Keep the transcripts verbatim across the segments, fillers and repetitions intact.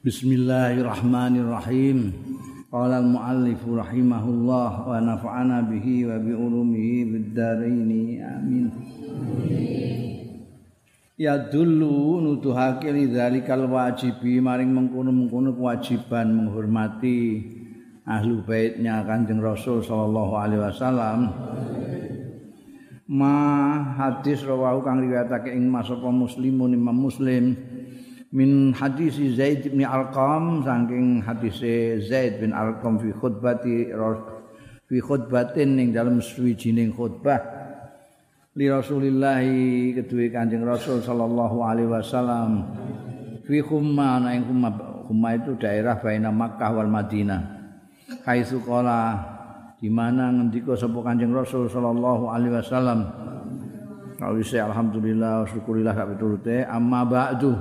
Bismillahirrahmanirrahim. Qala al-muallif rahimahullah wa nafa'ana bihi wa bi ulumihi bid dharain. Amin. Ya dulu nuduhake lidzalikal wajibi maring mengkono-mengkono kewajiban menghormati ahlu baitnya Kanjeng Rasul sallallahu alaihi wasallam. Ma hadis rawahu kang riwayatake ing masapa muslimun Imam Muslim min hadis Zaid bin Arqam saking hadise Zaid bin Arqam fi khutbati fi khutbatin ning dalam suwijining khutbah li Rasulillah kedue Kanjeng Rasul sallallahu alaihi wasallam fi Khumma ing Khumma Khumma itu daerah baina Makkah wal Madinah kaisu qala di mana ngendika sapa Kanjeng Rasul sallallahu alaihi wasallam kawise alhamdulillah syukurillah sak piturute amma ba'du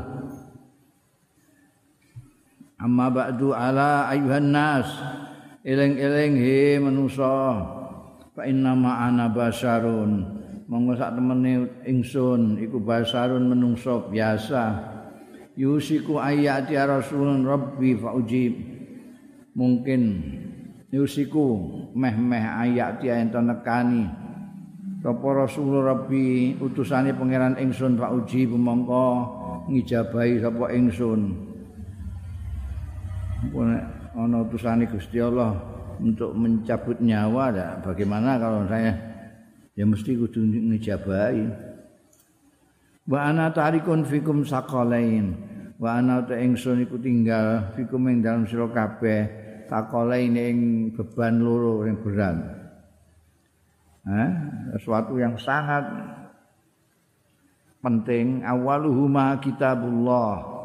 amma ba'du ala ayuhan nas eling-eling he manusa fa inna ma ana basyarun monggo sak temene ingsun iku basyarun menungso biasa yusiku ayati rasulun rabbi fa ujib mungkin yusiku meh-meh ayati enten nekani sapa rasul rabbi utusane pangeran ingsun fa ujib mongko ngijabahi sapa ingsun ana utusane Gusti Allah untuk mencabut nyawa ya bagaimana kalau saya ya mesti kudu ngijabahi wa ana tarikun fikum saqalain wa ana ta ingsun iku tinggal fikum ing dalem sira kabeh saqalain ing beban loro yang berat ha sesuatu yang sangat penting awaluhuma kitabullah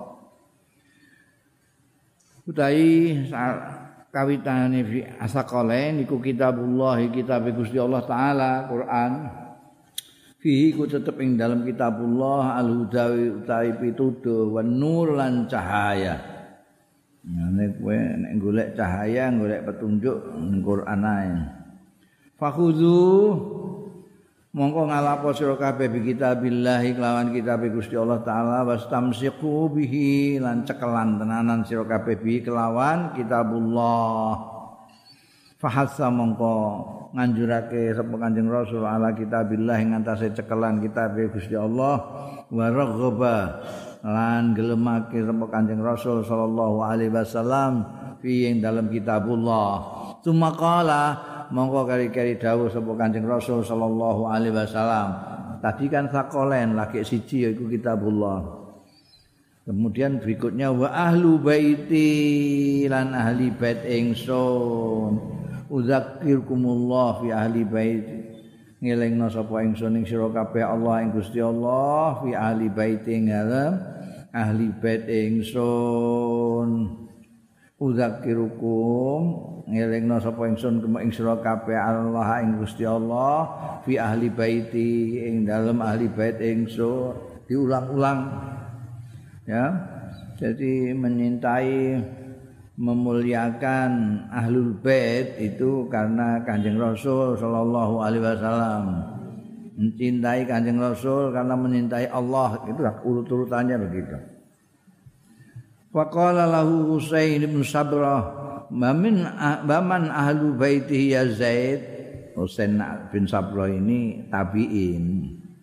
utawi kawitane fi asaqalain iku kitabullah kitab Gusti Allah taala Quran fihi ku tetep ing dalam kitabullah al-hudawi utawi pituduh wan nur lan cahaya nek kowe nek golek cahaya golek petunjuk ning Quran ae fakhudhu mongko ngalapo sira kabeh bi kitabillah kelawan kitab Gusti Allah taala wastamsiqu bihi lan cekelan tenanan sira kabeh bi kelawan kitabullah fahassa mongko nganjurake sapa Kanjeng Rasul ala kitabillah ing antase cekelan kitab Gusti Allah wa raghaba lan gelemake sapa Kanjeng Rasul sallallahu alaihi wasallam fi ing dalam kitabullah sumaqala mongko kari-kari dawuh sapa Kanjeng Rasul sallallahu alaihi wasallam. Tadi kan sakolen lagi siji yaiku kitabullah. Kemudian berikutnya wa ahlu baiti lan ahli bait ingsun. Udzakirkumullah fi ahli bait. Ngelingna sapa ingsun ing sira kabeh Allah ing Gusti Allah fi ahli bait ing ahli bait ingsun. Udzakirukum ngelingna sapa ingsun ing sira kabeh Allah ing Gusti Allah fi ahli baiti ing dalem ahli bait ingsun diulang-ulang ya jadi menyintai memuliakan ahlul bait itu karena Kanjeng Rasul sallallahu alaihi wasallam mencintai Kanjeng Rasul karena menyintai Allah itu urut-urutannya begitu. Faqala lahu Husain bin Sabrah Mamin baman ahlu baitihi ya Zaid Husain bin Sabrah ini tabi'in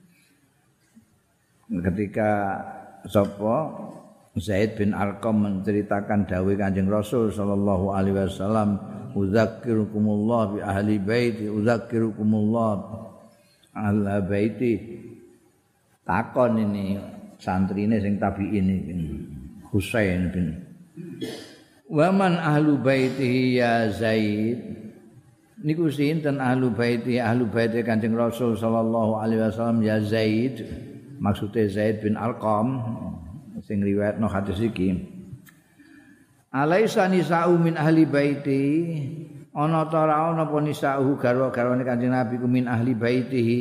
ketika sapa Zaid bin Arqam menceritakan dawuh Kanjeng Rasul sallallahu alaihi wasallam uzakkirukumullah bi ahli baiti uzakkirukumullah ahli baiti takon ini santrine sing tabi'in iki Husain bin Waman ahlu baitihi ya Zaid niku sinten ahlu baiti ahlu baiti Kanjeng Rasul sallallahu alaihi wasallam ya Zaid maksude Zaid bin Arqam sing riwayatno hadis iki alaisa nisa'u min ahli baiti ana ta ora ana apa nisa'u garwa-garwane Kanjeng Nabi ku min ahli baitihi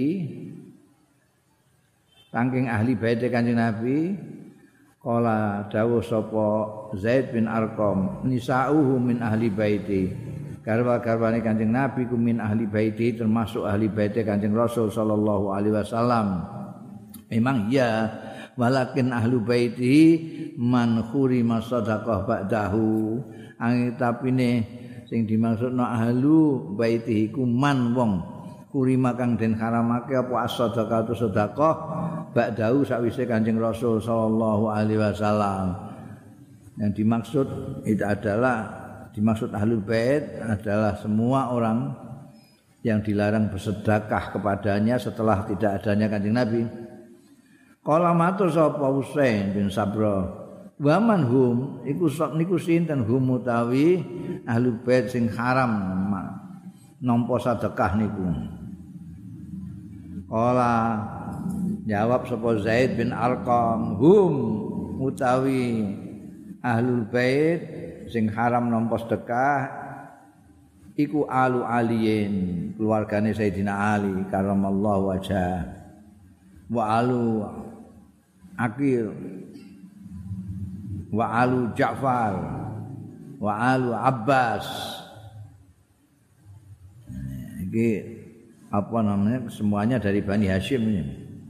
saking ahli baiti Kanjeng Nabi Kala dawuh sapa Zaid bin Arqam nisa'uhu min ahli baiti garwa-garwane Kanjeng Nabi ku min ahli baiti termasuk ahli baiti Kanjeng Rasul sallallahu alaihi wasallam memang iya walakin ahlu baiti man khurima sadaqah ba'dahu angin tapine sing dimaksudna ahlu baiti iku man wong khurima kang den haramake apa as-sadaqah tu sedekah ba'dahu sakwise Kanjeng Rasul sallallahu alaihi wasallam. Yang dimaksud itu adalah dimaksud ahlul bait adalah semua orang yang dilarang bersedekah kepadanya setelah tidak adanya Kanjeng Nabi. Qala matur sapa Husain bin Sabra, wa man hum iku sok niku sinten hum utawi ahlul bait sing haram nampa sedekah niku. Qala jawab sapa Zaid bin Arqam, hum utawi ahlul bait sing haram nampa sedekah iku alu aliyin keluargane Sayyidina Ali karamallahu wajah wa alu Aqil wa alu Ja'far wa alu Abbas. Ini apa namanya semuanya dari Bani Hashim ini.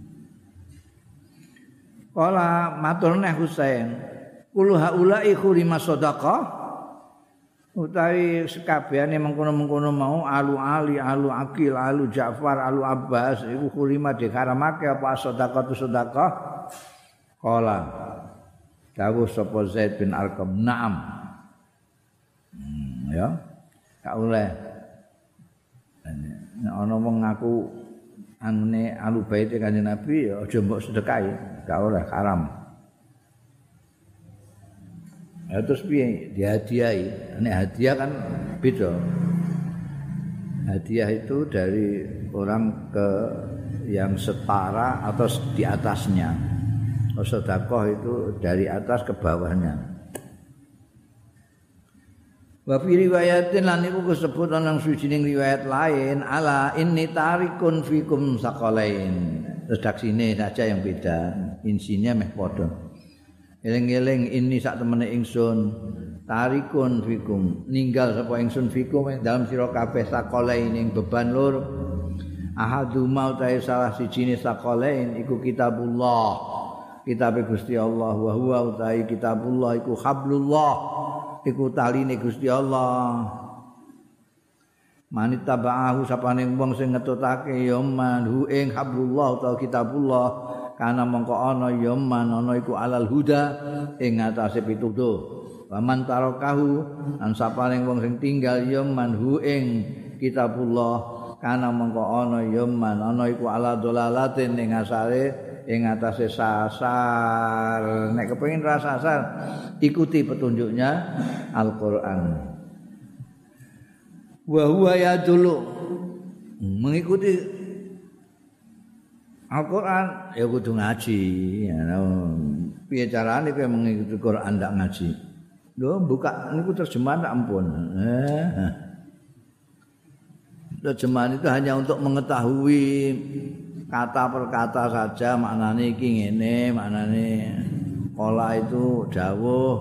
Qala maturne Husain kul haula'i khurima sadaqah utawi sekabehane mengkono-mengkono mau alu Ali, alu Aqil, alu Ja'far, alu Abbas iku kurima diharamake apa sedekah tu sedekah. Qala dawuh sapa Zaid bin Arqam, "Na'am." Hmm, ya. Gak oleh. Nek ana wong ngaku anune alu baite Kanjeng Nabi ya aja mbok sedekahi, gak oleh, haram. Ya terus piye dihadiahi? Nek hadiah kan beda. Hadiah itu dari orang ke yang setara atau di atasnya. Sedekah itu dari atas ke bawahnya. Wa fi riwayatin lan iku disebut ana sujining riwayat lain ala inni tarikun fikum saqalain. Redaksine saja yang beda, insinya meh padha. Eling-eling ini sak temene ingsun tarikun fikum ninggal sapa ingsun fikum dalam sira kabeh sakolain ing beban lur ahadu mau ta salah sijine sakolain iku kitabullah kitab Gusti Allah wa huwa utai kitabullah iku hablullah iku taline Gusti Allah manit tabaahu sapane wong sing ngetutake ya man hu ing hablullah utawa kitabullah kana mongko ana ya man ana iku alal huda ing atase pituduh waman tarakahu an saparing wong sing tinggal ya man hu ing kitabullah kana mongko ana ya man ana iku ala dolalatin ing asare ing atase sasar nek kepengin ra sasar ikuti petunjuknya Al-Qur'an wa huwa yadulu mengikuti Al-Quran ya kudu ngaji. Ya, piye carane kowe mengikuti Quran ndak ngaji? Lho buka niku terjemahan tak ampun. Eh. Terjemahan itu hanya untuk mengetahui kata per kata saja maknane iki ngene, maknane pola itu dawuh.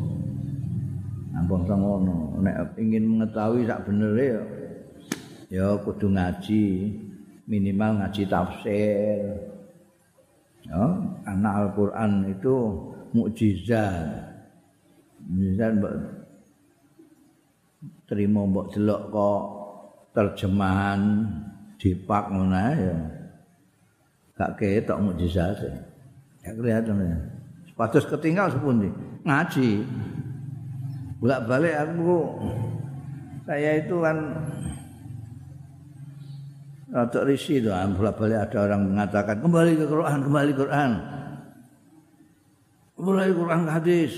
Ampun ngono. Nek ingin mengetahui sak benere ya ya kudu ngaji. Minimal ngaji tafsir. Ya, karena Al-Qur'an itu mukjizat. Mukjizat mbok terima mbok delok kok terjemahan dipak ngono ya. Gak ketok mukjizat. Ya kelihatan ya. Sepatus ketinggal sepundi? Ngaji. Bolak-balik aku saya itu kan rada risi to, bolak-balik ada orang mengatakan kembali ke Quran, kembali ke Quran. Kembali ke Quran ke hadis.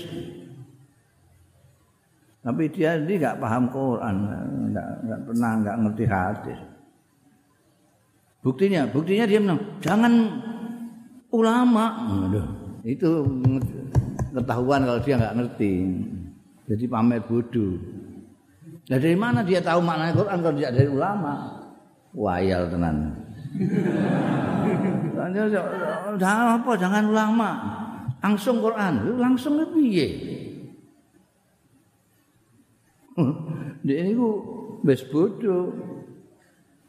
Tapi dia ini enggak paham Quran, enggak enggak pernah enggak ngerti hadis. Buktinya, buktinya dia bilang, "Jangan ulama." Aduh, itu ketahuan kalau dia enggak ngerti. Jadi pamer bodoh. Nah, dari mana dia tahu makna Quran kalau tidak dari ulama? Wayal tenan. Jangan apa, jangan ulama. Langsung Quran, langsung piye? Dia niku wis bodoh.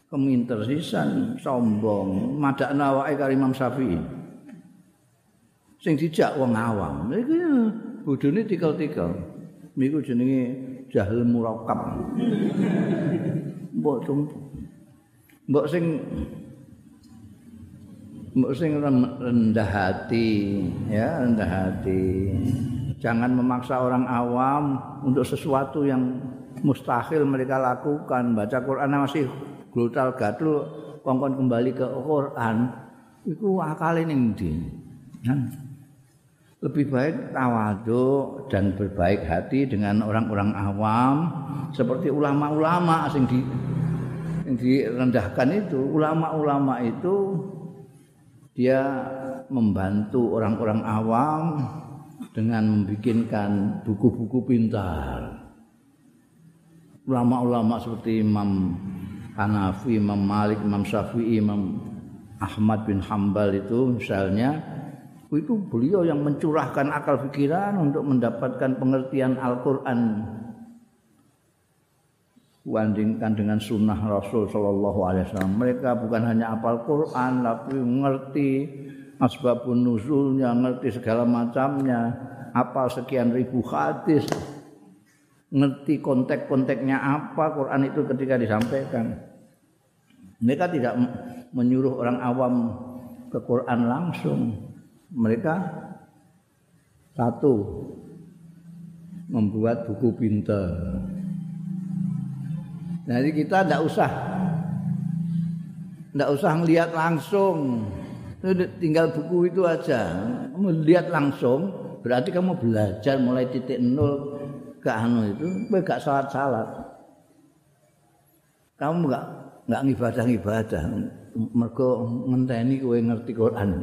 Keminter sisan, sombong, madakna awake karo Imam Syafi'i. sing dijak wong awam. Iku bodhone tikel-tikel. Niku jenenge jahil murakkab. Mbok mbok sing mbok sing rendah hati, ya, rendah hati. Jangan memaksa orang awam untuk sesuatu yang mustahil mereka lakukan. Baca Quran masih glutal gadul kongkon kembali ke Quran. Iku akale ning ndi? Lebih baik tawadhu dan berbaik hati dengan orang-orang awam seperti ulama-ulama sing di yang direndahkan itu. Ulama-ulama itu dia membantu orang-orang awam dengan membikinkan buku-buku pintar. Ulama-ulama seperti Imam Hanafi, Imam Malik, Imam Syafi'i, Imam Ahmad bin Hambal itu misalnya, itu beliau yang mencurahkan akal pikiran untuk mendapatkan pengertian Al-Quran, bandingkan dengan sunnah Rasul Sallallahu Alaihi Wasallam. Mereka bukan hanya hafal Quran, tapi mengerti asbabun nuzulnya, ngerti segala macamnya, hafal sekian ribu hadis, ngerti konteks-konteksnya apa Quran itu ketika disampaikan. Mereka tidak menyuruh orang awam ke Quran langsung. Mereka satu membuat buku pintar. Jadi kita tidak usah tidak usah ngelihat langsung, tinggal buku itu aja. Melihat langsung berarti kamu belajar mulai titik nol ke anu itu, kowe gak salat-salat. Kamu gak gak ngibadah-ngibadah mergo ngenteni kowe ngerti Quran.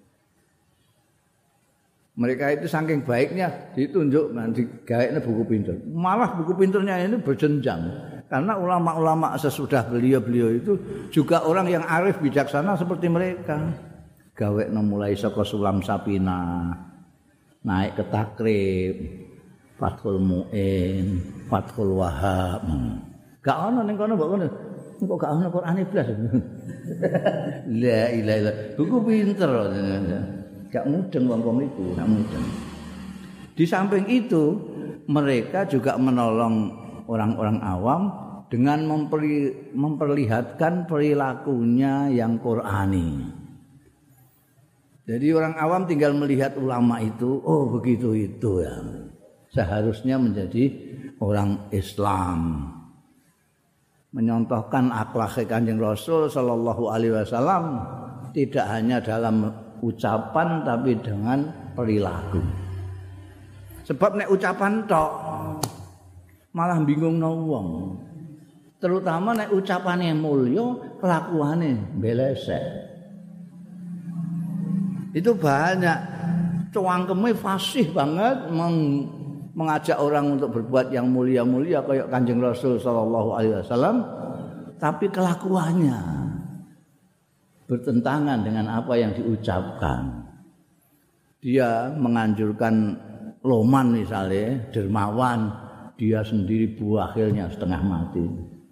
Mereka itu saking baiknya ditunjukkan digaweane buku pintar. Malah buku pintarnya ini berjenjang. Karena ulama-ulama sesudah beliau-beliau itu juga orang yang arif bijaksana seperti mereka. Gawekno mulai saka Sulam Sapina, naik ke Takrib, Fathul Mu'in, Fathul Wahab. Gak ono ning kono mbok ngono. Kok gak ono Quran iblis. La ilaha illallah. Buku pinter. Gak mudeng wong-wong itu, gak mudeng. Di samping itu, mereka juga menolong orang-orang awam dengan memperli, memperlihatkan perilakunya yang Qur'ani. Jadi orang awam tinggal melihat ulama itu, oh begitu itu ya. Seharusnya menjadi orang Islam. Menyontohkan akhlak Kanjeng Rasul sallallahu alaihi wasallam tidak hanya dalam ucapan tapi dengan perilaku. Sebab nek ucapan tok malah bingungno wong. Terutama nek ucapane mulya, kelakuane belesek. Itu banyak cuangkeme fasih banget meng, mengajak orang untuk berbuat yang mulia-mulia kayak Kanjeng Rasul sallallahu alaihi wasallam, tapi kelakuannya bertentangan dengan apa yang diucapkan. Dia menganjurkan loman misalnya, dermawan, dia sendiri buahilnya setengah mati.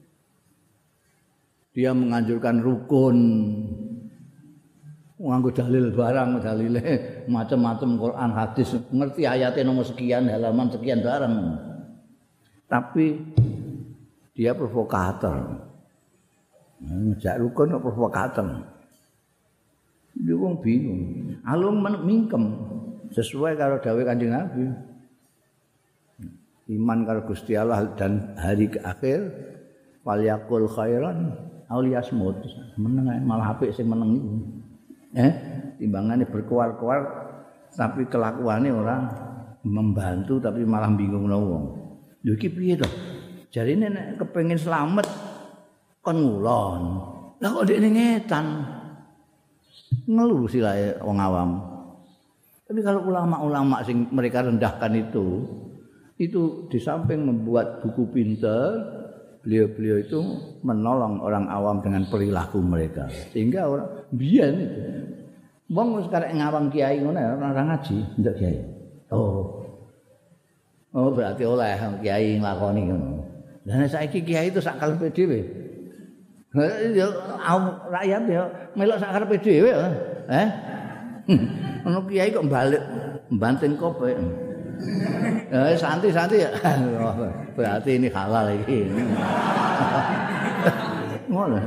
Dia menganjurkan rukun, nganggo dalil barang, dalile macam-macam Quran hadis, ngerti ayatnya nomor sekian, halaman sekian barang. Tapi dia provokator. Ngejak rukun kok provokator. Dia wong bingung. Alung mingkem sesuai karo dawuh Kanjeng Nabi. Iman karo Gusti Allah dan hari akhir falyakul khairan aw liyasmut. Meneng malah apik sing meneng iku. Eh, timbangane berkuar-kuar tapi kelakuannya orang membantu tapi malah bingungno wong. Lho iki piye to? Jarine nek kepengin slamet kon ngulon. Lah kok dekne ngetan. Ngeluh silae wong awam. Tapi kalau ulama-ulama sing mereka rendahkan itu, itu di samping membuat buku pintar, beliau-beliau itu menolong orang awam dengan perilaku mereka. Sehingga orang biyen itu wong wis karek ngawang kiai ngono ora ngaji, ndak kiai. Oh. Oh berarti oleh kiai nglakoni ngono. Lah saiki kiai itu sak karepe dhewe. Ya rakyat ya melok sak karepe dhewe ya. Eh? Ono kiai kok balik banting kope. Ya santai-santai ya. Berarti ini halal iki. Ngono.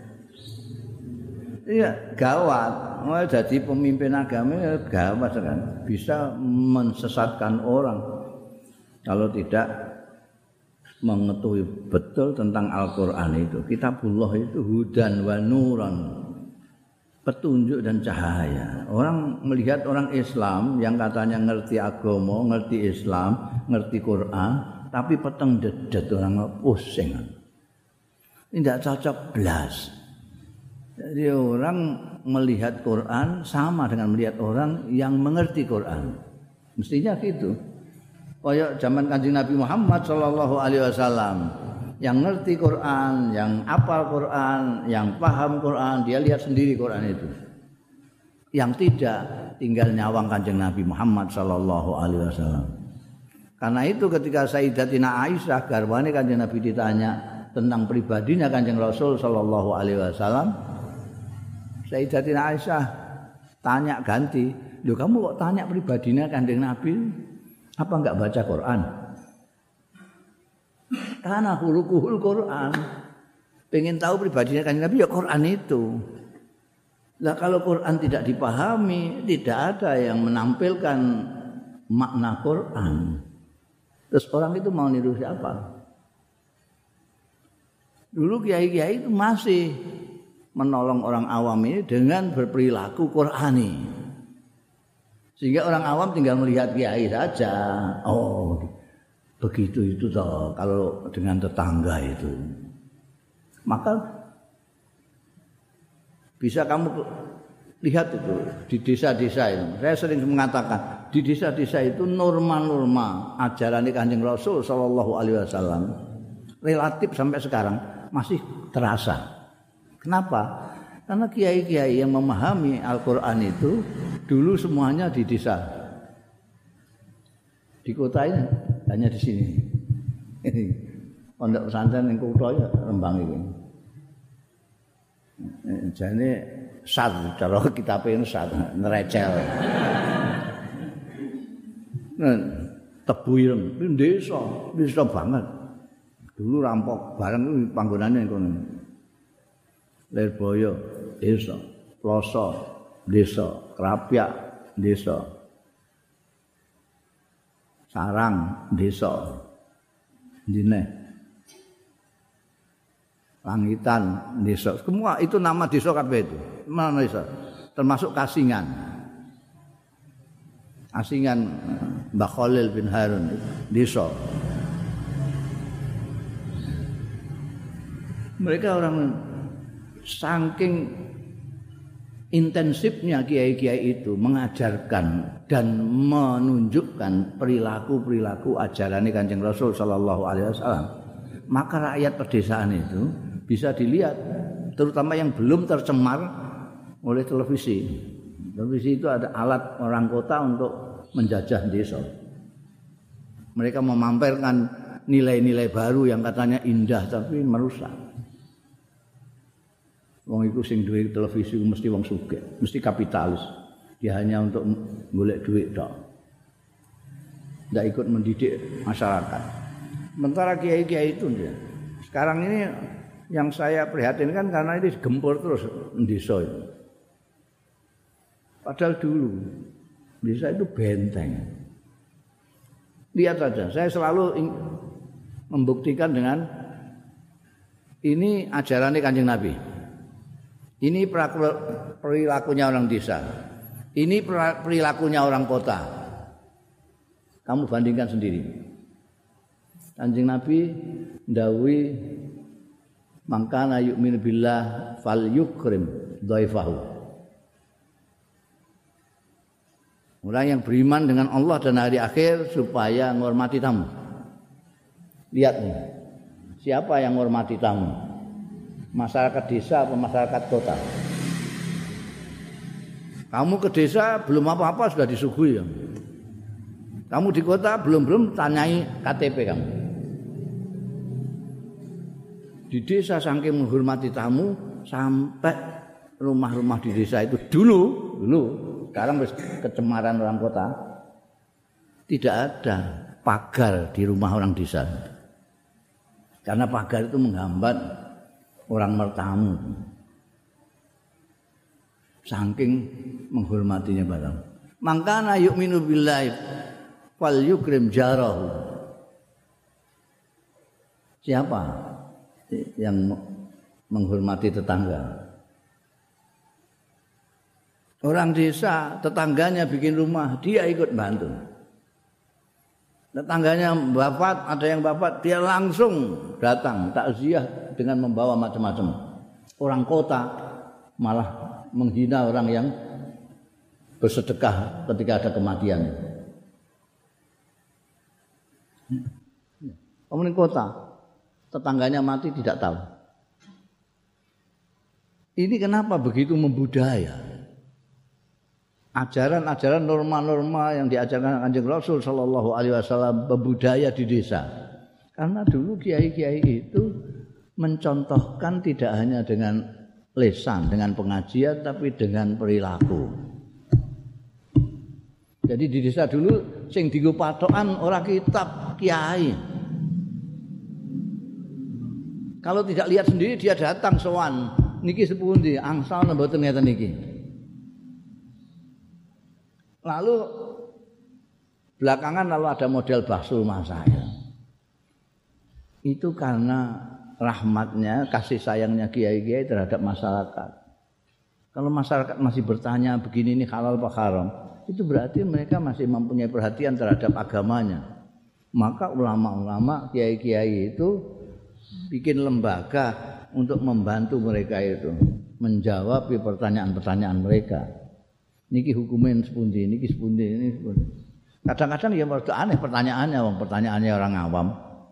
Iya, gawat. Mau jadi pemimpin agama gawat kan. Bisa mensesatkan orang kalau tidak mengetahui betul tentang Al-Qur'an itu. Kitabullah itu hudan wa nuran. Petunjuk dan cahaya. Orang melihat orang Islam yang katanya ngerti agama, ngerti Islam, ngerti Quran, tapi peteng dedet orang pusing. Tidak cocok belas. Jadi orang melihat Quran sama dengan melihat orang yang mengerti Quran. Mestinya gitu. Kayak zaman Kanjeng Nabi Muhammad sallallahu alaihi wasallam. Yang ngerti Quran, yang hafal Quran, yang paham Quran, dia lihat sendiri Quran itu. Yang tidak, tinggal nyawang Kanjeng Nabi Muhammad sallallahu alaihi wasallam. Karena itu ketika Sayyidatina Aisyah garwane Kanjeng Nabi ditanya tentang pribadinya Kanjeng Rasul sallallahu alaihi wasallam, Sayyidatina Aisyah tanya ganti, "Loh kamu kok tanya pribadinya Kanjeng Nabi? Apa enggak baca Quran?" Karena hulukuhul Quran. Pengen tahu pribadinya Kanjeng Nabi ya Quran itu. Lah kalau Quran tidak dipahami, tidak ada yang menampilkan makna Quran. Terus orang itu mau niru siapa? Dulu kiai-kiai itu masih menolong orang awam ini dengan berperilaku Qurani. Sehingga orang awam tinggal melihat kiai saja. Oh, begitu itu toh kalau dengan tetangga itu. Maka bisa kamu lihat itu di desa-desa itu. Saya sering mengatakan di desa-desa itu norma-norma ajaran Kanjeng Rasul sallallahu alaihi wasallam relatif sampai sekarang masih terasa. Kenapa? Karena kiai-kiai yang memahami Al-Qur'an itu dulu semuanya di desa. Di kota ini hanya di sini. Pondok pesantren yang kota ya Rembang ini. Jadi sad, cara kita pengen sad, nerecel. Nah, Tebu Ireng, ini desa, desa banget. Dulu rampok barang itu panggonannya kono. Lirboyo, desa, Ploso, desa, Krapyak, desa. Sarang, desa. Dine. Langitan, desa. Semua itu nama desa kabeh itu. Mana desa? Termasuk Kasingan. Kasingan Mbah Khalil bin Harun, desa. Mereka orang saking intensifnya kiai-kiai itu mengajarkan dan menunjukkan perilaku-perilaku ajaran Kanjeng Rasul sallallahu alaihi wasallam. Maka rakyat pedesaan itu bisa dilihat, terutama yang belum tercemar oleh televisi. Televisi itu ada alat orang kota untuk menjajah desa. Mereka memamerkan nilai-nilai baru yang katanya indah tapi merusak. Wong iku sing duwe televisi mesti wong sugih, mesti kapitalis. Dia hanya untuk golek duit tok. Ndak ikut mendidik masyarakat. Sementara kiai-kiai itu dia. Sekarang ini yang saya prihatinkan karena ini gempur terus desa itu. Padahal dulu desa itu benteng. Lihat saja, saya selalu membuktikan dengan ini ajarannya Kanjeng Nabi. Ini perilakunya orang desa. Ini perilakunya orang kota. Kamu bandingkan sendiri. Kanjeng Nabi ndawuhi mangkana yu'minu billah fal yukrim dhaifahu. Orang yang beriman dengan Allah dan hari akhir supaya menghormati tamu. Lihat nih. Siapa yang menghormati tamu? Masyarakat desa atau masyarakat kota? Kamu ke desa belum apa-apa sudah disuguhi ya. Kamu di kota belum-belum tanyai K T P kamu. Di desa saking menghormati tamu sampai rumah-rumah di desa itu dulu dulu K sekarang kecemaran orang kota. Tidak ada pagar di rumah orang desa. Karena pagar itu menghambat orang bertamu. Saking menghormatinya barang. Mangkana yu'minu billahi fal yukrim jarahu. Siapa yang menghormati tetangga? Orang desa, tetangganya bikin rumah, dia ikut bantu. Tetangganya wafat, ada yang wafat, dia langsung datang takziah dengan membawa macam-macam. Orang kota malah menghina orang yang bersedekah ketika ada kematian. Orang kota, tetangganya mati tidak tahu. Ini kenapa begitu membudaya? Ajaran-ajaran norma-norma yang diajarkan Kanjeng Rasul sallallahu alaihi wasallam membudaya di desa. Karena dulu kiai-kiai itu mencontohkan tidak hanya dengan lisan, dengan pengajian tapi dengan perilaku. Jadi di desa dulu sing dienggo patokan ora kitab kiai. Kalau tidak lihat sendiri dia datang sowan, niki sepundi angsal mboten ngeten niki. Lalu belakangan lalu ada model bakso rumah saya. Itu karena rahmatnya, kasih sayangnya kiai-kiai terhadap masyarakat. Kalau masyarakat masih bertanya begini ini halal apa haram, itu berarti mereka masih mempunyai perhatian terhadap agamanya. Maka ulama-ulama, kiai-kiai itu bikin lembaga untuk membantu mereka itu menjawab pertanyaan-pertanyaan mereka. Niki hukumin sepundi, niki sepundi, ini sepundi. Kadang-kadang ya merasa aneh pertanyaannya, wong pertanyaannya orang awam.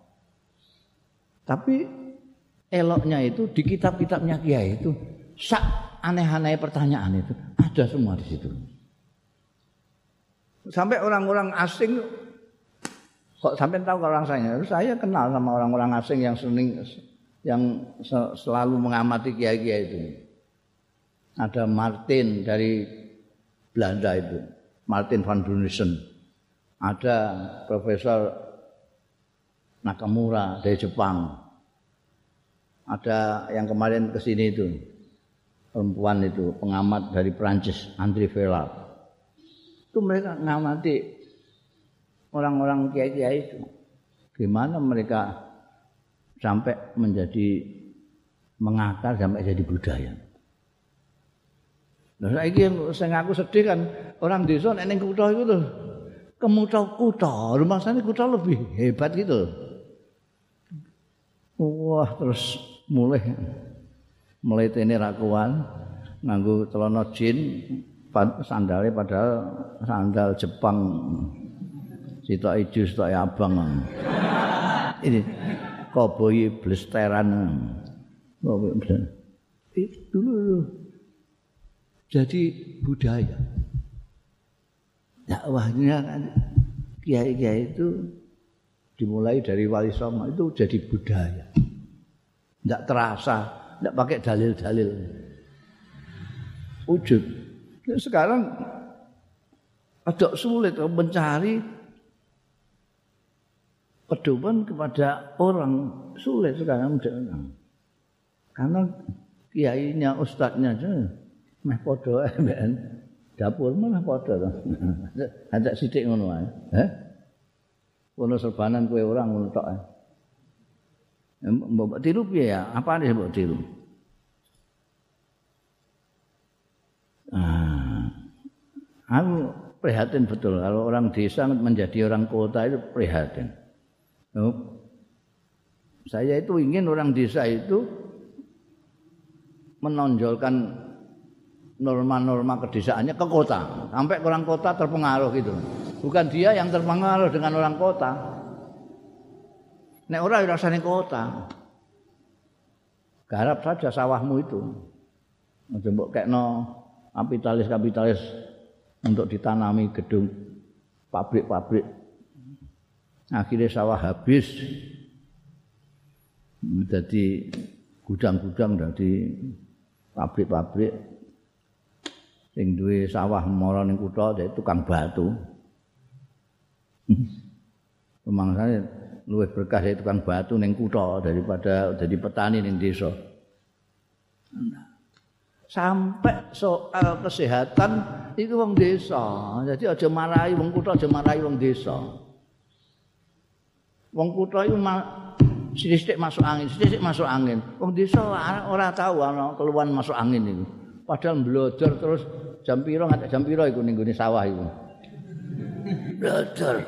Tapi eloknya itu di kitab-kitabnya kiai itu sak aneh-aneh pertanyaan itu ada semua di situ. Sampai orang-orang asing kok sampai tahu kalau orang saya, saya kenal sama orang-orang asing yang sering yang selalu mengamati kiai-kiai itu. Ada Martin dari Belanda itu, Martin van Brunesen. Ada Profesor Nakamura dari Jepang. Ada yang kemarin ke sini itu, perempuan itu, pengamat dari Prancis, André Vellard. Itu mereka ngamati orang-orang kiai-kiai itu. Gimana mereka sampai menjadi mengakar sampai jadi budaya. Nah, saiki sing aku sedih kan orang desa nek ning kutha iku lho. Kemutha-kutha, rumangsane kutha lebih hebat gitu. Wah, terus mulai mletene ra kuwan nganggo celana jin, sandale padahal sandal Jepang. Sitok ijo, sitok abang. Ini koboi blesteran. Koboi blesteran. Itu dulu jadi budaya. Dakwahnya kan kiai-kiai itu dimulai dari Wali Songo itu jadi budaya. Tidak terasa, tidak pakai dalil-dalil. Wujud. Sekarang agak sulit mencari pedoman kepada orang, sulit sekarang karena kiainya, ustadznya meh padha mben dapur malah padha to. Ada sithik ngono wae. Heh. Ono serbanan kowe ora ngono tok. Mbok tiru piye ya? Apane mbok tiru? Ah. Aku prihatin betul kalau orang desa menjadi orang kota itu prihatin. Oh. Saya itu ingin orang desa itu menonjolkan norma-norma kedesaannya ke kota, sampai orang kota terpengaruh gitu. Bukan dia yang terpengaruh dengan orang kota. Nek ora ya rasane kota. Garap saja sawahmu itu. Aja mbok kekno kapitalis-kapitalis untuk ditanami gedung pabrik-pabrik. Akhirnya sawah habis. Jadi gudang-gudang dari pabrik-pabrik. Sing duwe sawah mara ning kutha dadi tukang batu. Pemangsane luwih berkah dari tukang batu ning kutha daripada jadi petani ning desa. Sampai soal kesehatan itu wong desa. Jadi aja marahi wong kutha, aja marahi wong desa. Wong kutha iku sithik masuk angin, sithik masuk angin. Wong desa ora tahu ana keluhan masuk angin iku. Padahal blodor terus jam pira nganti jam pira iku ning gone sawah iku. Blodor.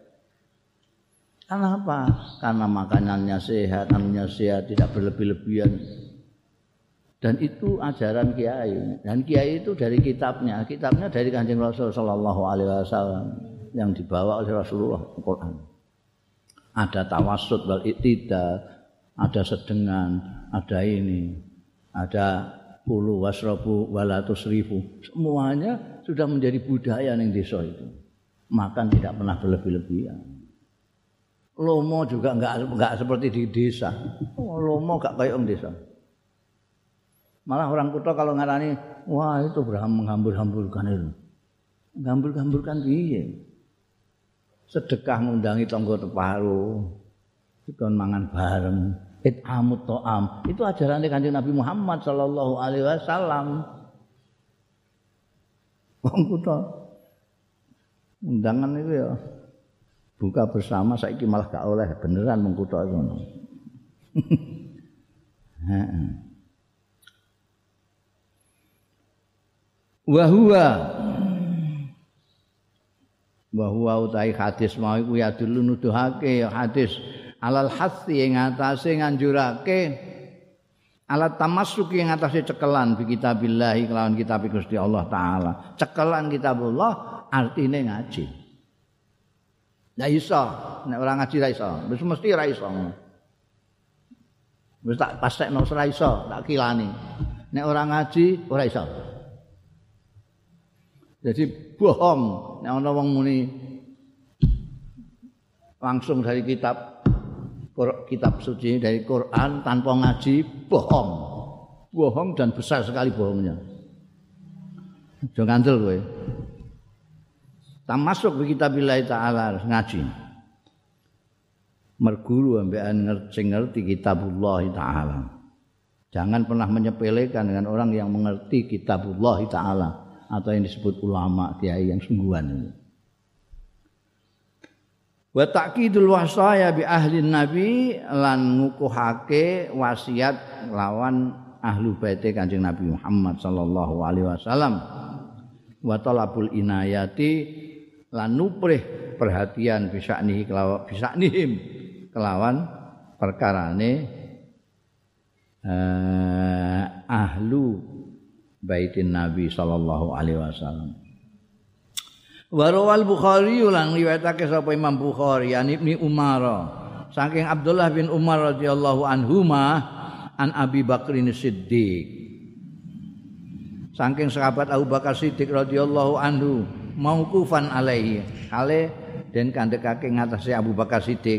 Kenapa? Karena makanannya sehat, namanya sehat, tidak berlebih-lebihan. Dan itu ajaran kiai. Dan kiai itu dari kitabnya, kitabnya dari Kanjeng Rasul sallallahu alaihi wasallam yang dibawa oleh Rasulullah Al-Qur'an. Ada tawassut wal iktidal, ada sedengan, ada ini, ada kulu wasrabu wala tusrifu. Semuanya sudah menjadi budaya ning desa itu. Makan tidak pernah berlebih-lebihan. Lomo juga enggak enggak seperti di desa. Oh, lomo enggak kayak orang desa. Malah orang kota kalau ngarani, wah itu berham menghambur-hamburkan itu. Menghambur-hamburkan piye? Sedekah ngundangi tangga teparo. Dikon mangan bareng, it'amut ta'am. Itu ajarannya Kanjeng Nabi Muhammad sallallahu alaihi wasallam. Wong kota undangan itu ya buka bersama saiki malah gak oleh beneran mengkutok ngono. Heeh. Wa huwa wa huwa utai hadis mau iku ya dulu nuduhake hadis alal hasi ing atase nganjurake alat tamassuki ing atase cekelan bi kitabillah kelawan kitab Gusti Allah taala. Cekelan kitabullah artine ngaji. Ndak iso, nek ora ngaji ra iso. Wis mesti ra iso. Wis tak pastekno ora iso, tak kilani. Nek ora ngaji ora iso. Jadi bohong nek ana wong muni langsung dari kitab kitab suci dari Quran tanpa ngaji, bohong. Bohong dan besar sekali bohongnya. Aja ngandel kowe. Tamasuk bi kitabillah taala harus ngaji. Merguru ambekan ngerti ngerti kitabullah taala. Jangan pernah menyepelekan dengan orang yang mengerti kitabullah taala atau yang disebut ulama kiai yang sungguhan ini. Wa ta'kidul wasaya bi ahli nabi lan ngukuhake wasiat lawan ahlu baite Kanjeng Nabi Muhammad sallallahu alaihi wasallam. Wa talabul inayati lan nuprih perhatian bisaknihi kelawan bisaknihim kelawan perkarane eh, ahlu baitin Nabi sallallahu alaihi wasallam. Wa rawal Bukhari lan riwayatake sapa Imam Bukhari an Ibnu Umar saking Abdullah bin Umar radhiyallahu anhuma an Abi Bakrin Siddiq saking sahabat Abu Bakar Siddiq radhiyallahu anhu mauqufan alaihi kale den kandhekake ngatasé Abu Bakar Siddiq.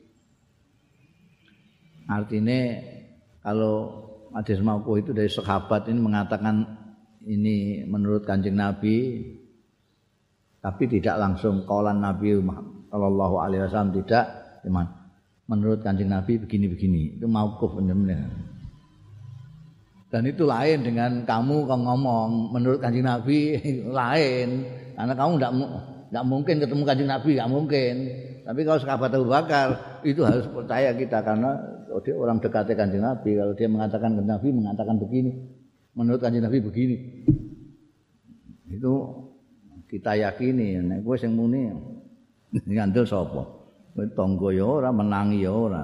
Artinya kalau hadis mauquf itu dari sahabat ini mengatakan ini menurut Kanjeng Nabi tapi tidak langsung kaulan Nabi sallallahu alaihi wasallam tidak, cuman menurut Kanjeng Nabi begini-begini. Itu mauquf benar-benar. Dan itu lain dengan kamu kalau ngomong menurut Kanjeng Nabi lain. Karena kamu tidak tidak mungkin ketemu Kanjeng Nabi, tidak mungkin. Tapi kalau sahabat Abu Bakar itu harus percaya kita karena oh, dia orang dekatnya Kanjeng Nabi. Kalau dia mengatakan Kanjeng Nabi mengatakan begini, menurut Kanjeng Nabi begini, itu kita yakini. Nek kowe sing muni ngandel sapa? Kowe tangga ya ora, menangi ya ora.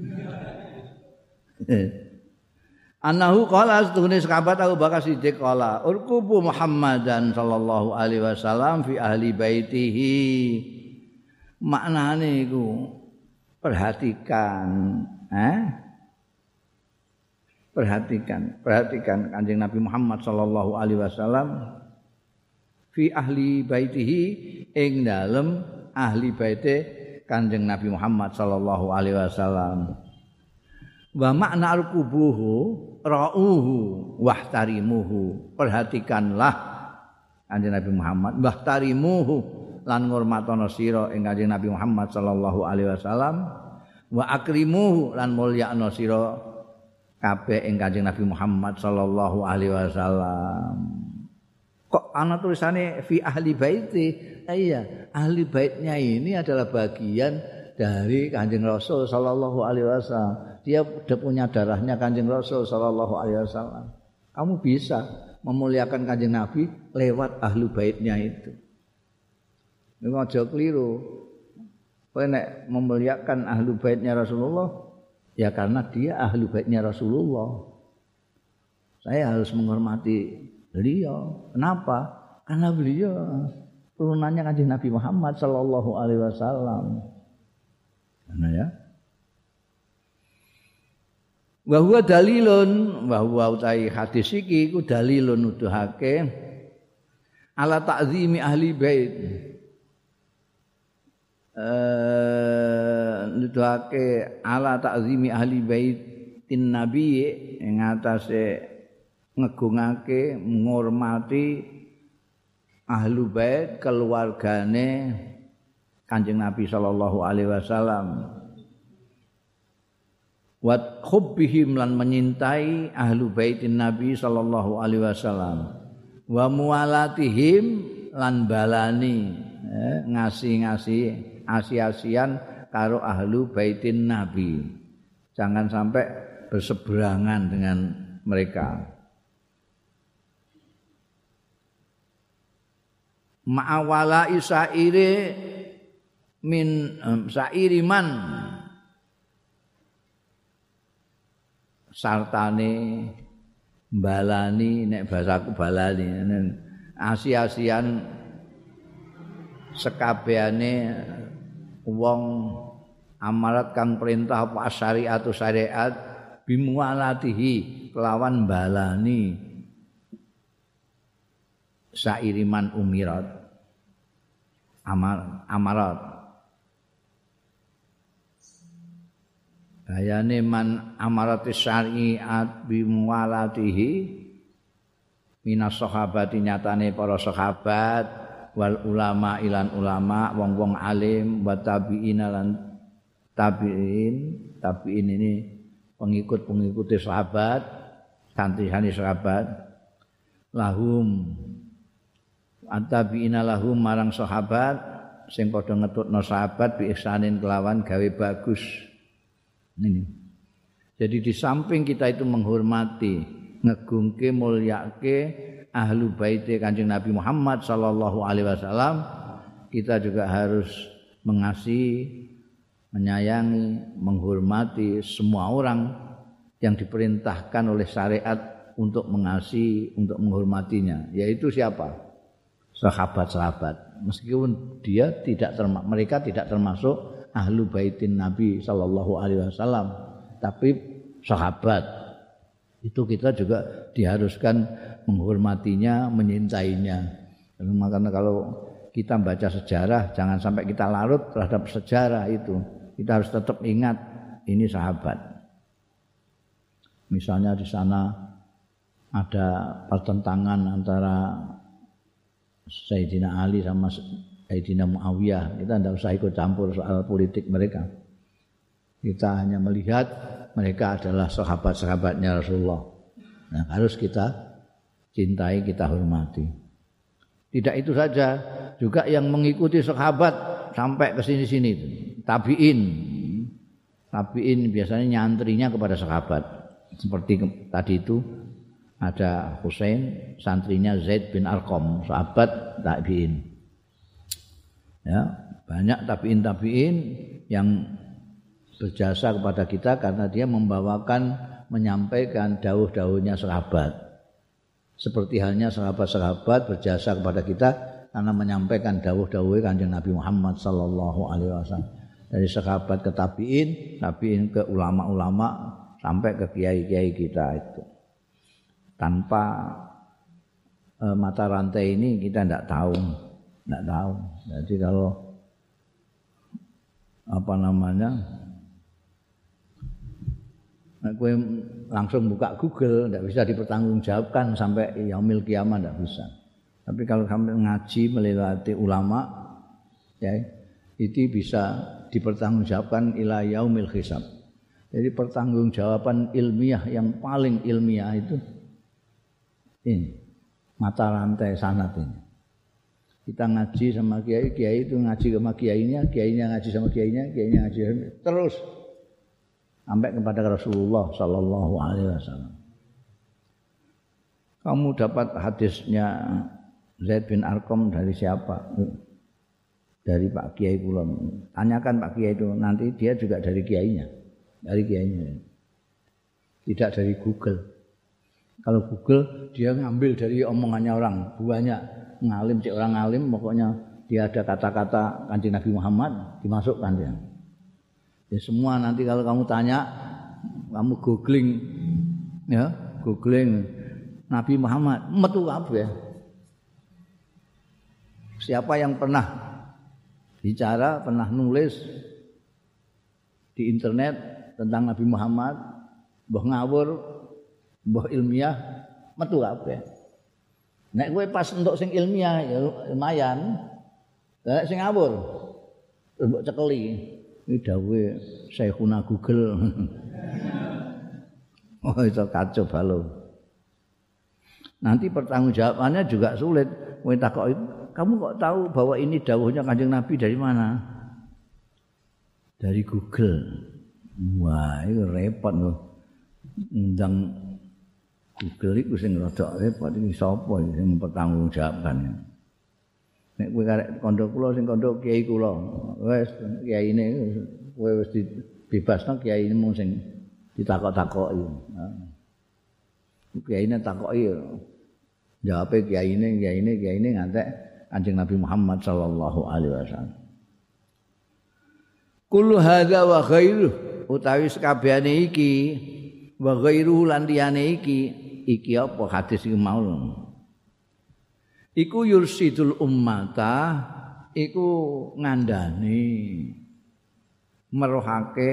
Anahu qala astune sahabat Abu Bakar Siddiq qala urqubu Muhammadan sallallahu alaihi wasallam fi ahli baitihi. Maknane iku perhatikan, eh? Perhatikan, perhatikan Kanjeng Nabi Muhammad sallallahu alaihi wasallam fi ahli baitihi ing dalem ahli baite Kanjeng Nabi Muhammad sallallahu alaihi wasallam. Wa makna al-kubuhu ra'uhu wahtarimuhu. Perhatikanlah Kanjeng Nabi Muhammad, mbah tarimuhu lan ngurmatono sira ing Kanjeng Nabi Muhammad sallallahu alaihi wasallam, wa akrimuhu lan mulyakno sira kabeh ing Kanjeng Nabi Muhammad sallallahu alaihi wasallam. Kok ana tulisane fi ahli baiti? Iya, ahli baitnya ini adalah bagian dari Kanjeng Rasul sallallahu alaihi wasallam. Dia sudah punya darahnya Kanjeng Rasul sallallahu alaihi wasallam. Kamu bisa memuliakan Kanjeng Nabi lewat ahli baitnya itu. Ini aja keliru. Kowe nek memuliakan ahli baitnya Rasulullah, ya karena dia ahli baitnya Rasulullah. Saya harus menghormati beliau. Kenapa? Karena beliau turunannya Kanjeng Nabi Muhammad sallallahu alaihi wasallam. Karena ya. Wa huwa dalilun, wa huwa utai hadis iki iku dalilun nuduhake ala ta'zimi ahli bait. Eh nuduhake ala ta'zimi ahli baitin nabi ing atase ngegungake ngurmati ahlu bait keluargane Kanjeng Nabi sallallahu alaihi wasallam. Wa hubbihim lan menyintai ahlu baitin Nabi sallallahu alaihi wasallam. Wa muwalatihim lan balani eh, ngasih-ngasih asi-asian karo ahlu baitin Nabi. Jangan sampai berseberangan dengan mereka. Ma'awala isaire min um, sairi man sartane balani nek basaku balani asi-asian sekabehane wong amarat kang perintah apa syariat atau syariat bimualatihi kelawan balani sairiman umirat amar amarat bayane man amaratis syariat bimualatihi minas sahabati nyatane para sahabat wal ulama ilan ulama wong-wong alim wa tabi'in lan tabi'in tabi'in ini pengikut-pengikut sahabat santri-santri sahabat lahum at-tabi'ina lahum marang sahabat sing padha ngetutno sahabat bi ihsanin kelawan gawe bagus. Ini. Jadi di samping kita itu menghormati, ngegungke, mulyake ahlu baiti Kanjeng Nabi Muhammad sallallahu alaihi wasallam, kita juga harus mengasihi, menyayangi, menghormati semua orang yang diperintahkan oleh syariat untuk mengasihi, untuk menghormatinya. Yaitu siapa? Sahabat-sahabat. Meskipun dia tidak terma- mereka tidak termasuk ahlu baitin Nabi sallallahu alaihi wasallam, tapi sahabat itu kita juga diharuskan menghormatinya, menyintainya. Makanya kalau kita baca sejarah jangan sampai kita larut terhadap sejarah itu. Kita harus tetap ingat ini sahabat. Misalnya di sana ada pertentangan antara Sayyidina Ali sama Sayyidina Muawiyah, kita tidak usah ikut campur soal politik mereka. Kita hanya melihat mereka adalah sahabat-sahabatnya Rasulullah. Nah, harus kita cintai, kita hormati. Tidak itu saja, juga yang mengikuti sahabat sampai ke sini-sini itu. Tabi'in. Tabi'in biasanya nyantrinya kepada sahabat. Seperti tadi itu ada Husain, santrinya Zaid bin Arqam, sahabat tabi'in. Ya, banyak tabi'in-tabi'in yang berjasa kepada kita karena dia membawakan, menyampaikan dawuh-dawuhnya sahabat. Seperti halnya sahabat-sahabat berjasa kepada kita karena menyampaikan dawuh-dawuh Kanjeng Nabi Muhammad sallallahu alaihi wasallam. Dari sahabat ke tabi'in, tabi'in ke ulama-ulama sampai ke kiai-kiai kita itu. Tanpa eh, mata rantai ini kita tidak tahu. Tidak tahu. Jadi kalau apa namanya, aku langsung buka Google, tidak bisa dipertanggungjawabkan sampai yaumil kiamat, tidak bisa. Tapi kalau sampai ngaji melewati ulama, ya itu bisa dipertanggungjawabkan ila yaumil hisab. Jadi pertanggungjawaban ilmiah yang paling ilmiah itu ini mata rantai sanad ini. Kita ngaji sama kiai, kiai itu ngaji sama kiainya, kiainya ngaji sama kiainya, kiainya ngaji terus sampai kepada Rasulullah sallallahu alaihi wasallam. Kamu dapat hadisnya Zaid bin Arqam dari siapa? Dari Pak Kiai kula. Tanyakan Pak Kiai itu, nanti dia juga dari kiainya. Dari kiainya. Tidak dari Google. Kalau Google dia ngambil dari omongannya orang, banyak ngalim cek orang ngalim, pokoknya dia ada kata-kata Kanjeng Nabi Muhammad dimasukkan dia. Ya semua nanti kalau kamu tanya, kamu googling ya, googling Nabi Muhammad, metu kabeh. Siapa yang pernah bicara, pernah nulis di internet tentang Nabi Muhammad, mbah ngawur, mbah ilmiah, metu kabeh. Nek kowe pas entuk sing ilmiah ya lumayan. Nek sing ngawur mbok cekeli. Iki dawuhe Syekhuna Google. Oh itu kacau balau. Nanti pertanggungjawabannya juga sulit. Kowe takoki, kamu kok tahu bahwa ini dawuhnya Kanjeng Nabi dari mana? Dari Google. Wah, itu repot loh. Undang Google itu sing rada repot iki sapa sing mempertanggungjawabkan. Nek kowe karek kandha kula sing kandha kiai kula, wis kiyaine kowe wis dibebasno kiyaine mung sing ditakok-takoki. Kiyaine takoki jawabe kiyaine kiyaine kiyaine ngantek Kanjeng Nabi Muhammad sallallahu alaihi wasallam. Kullu hadza wa ghairuh utawi sakabehane iki wa ghairuhu lan liyane iki iki apa hadis iki mau. Iku yursidul ummata iku ngandani merohake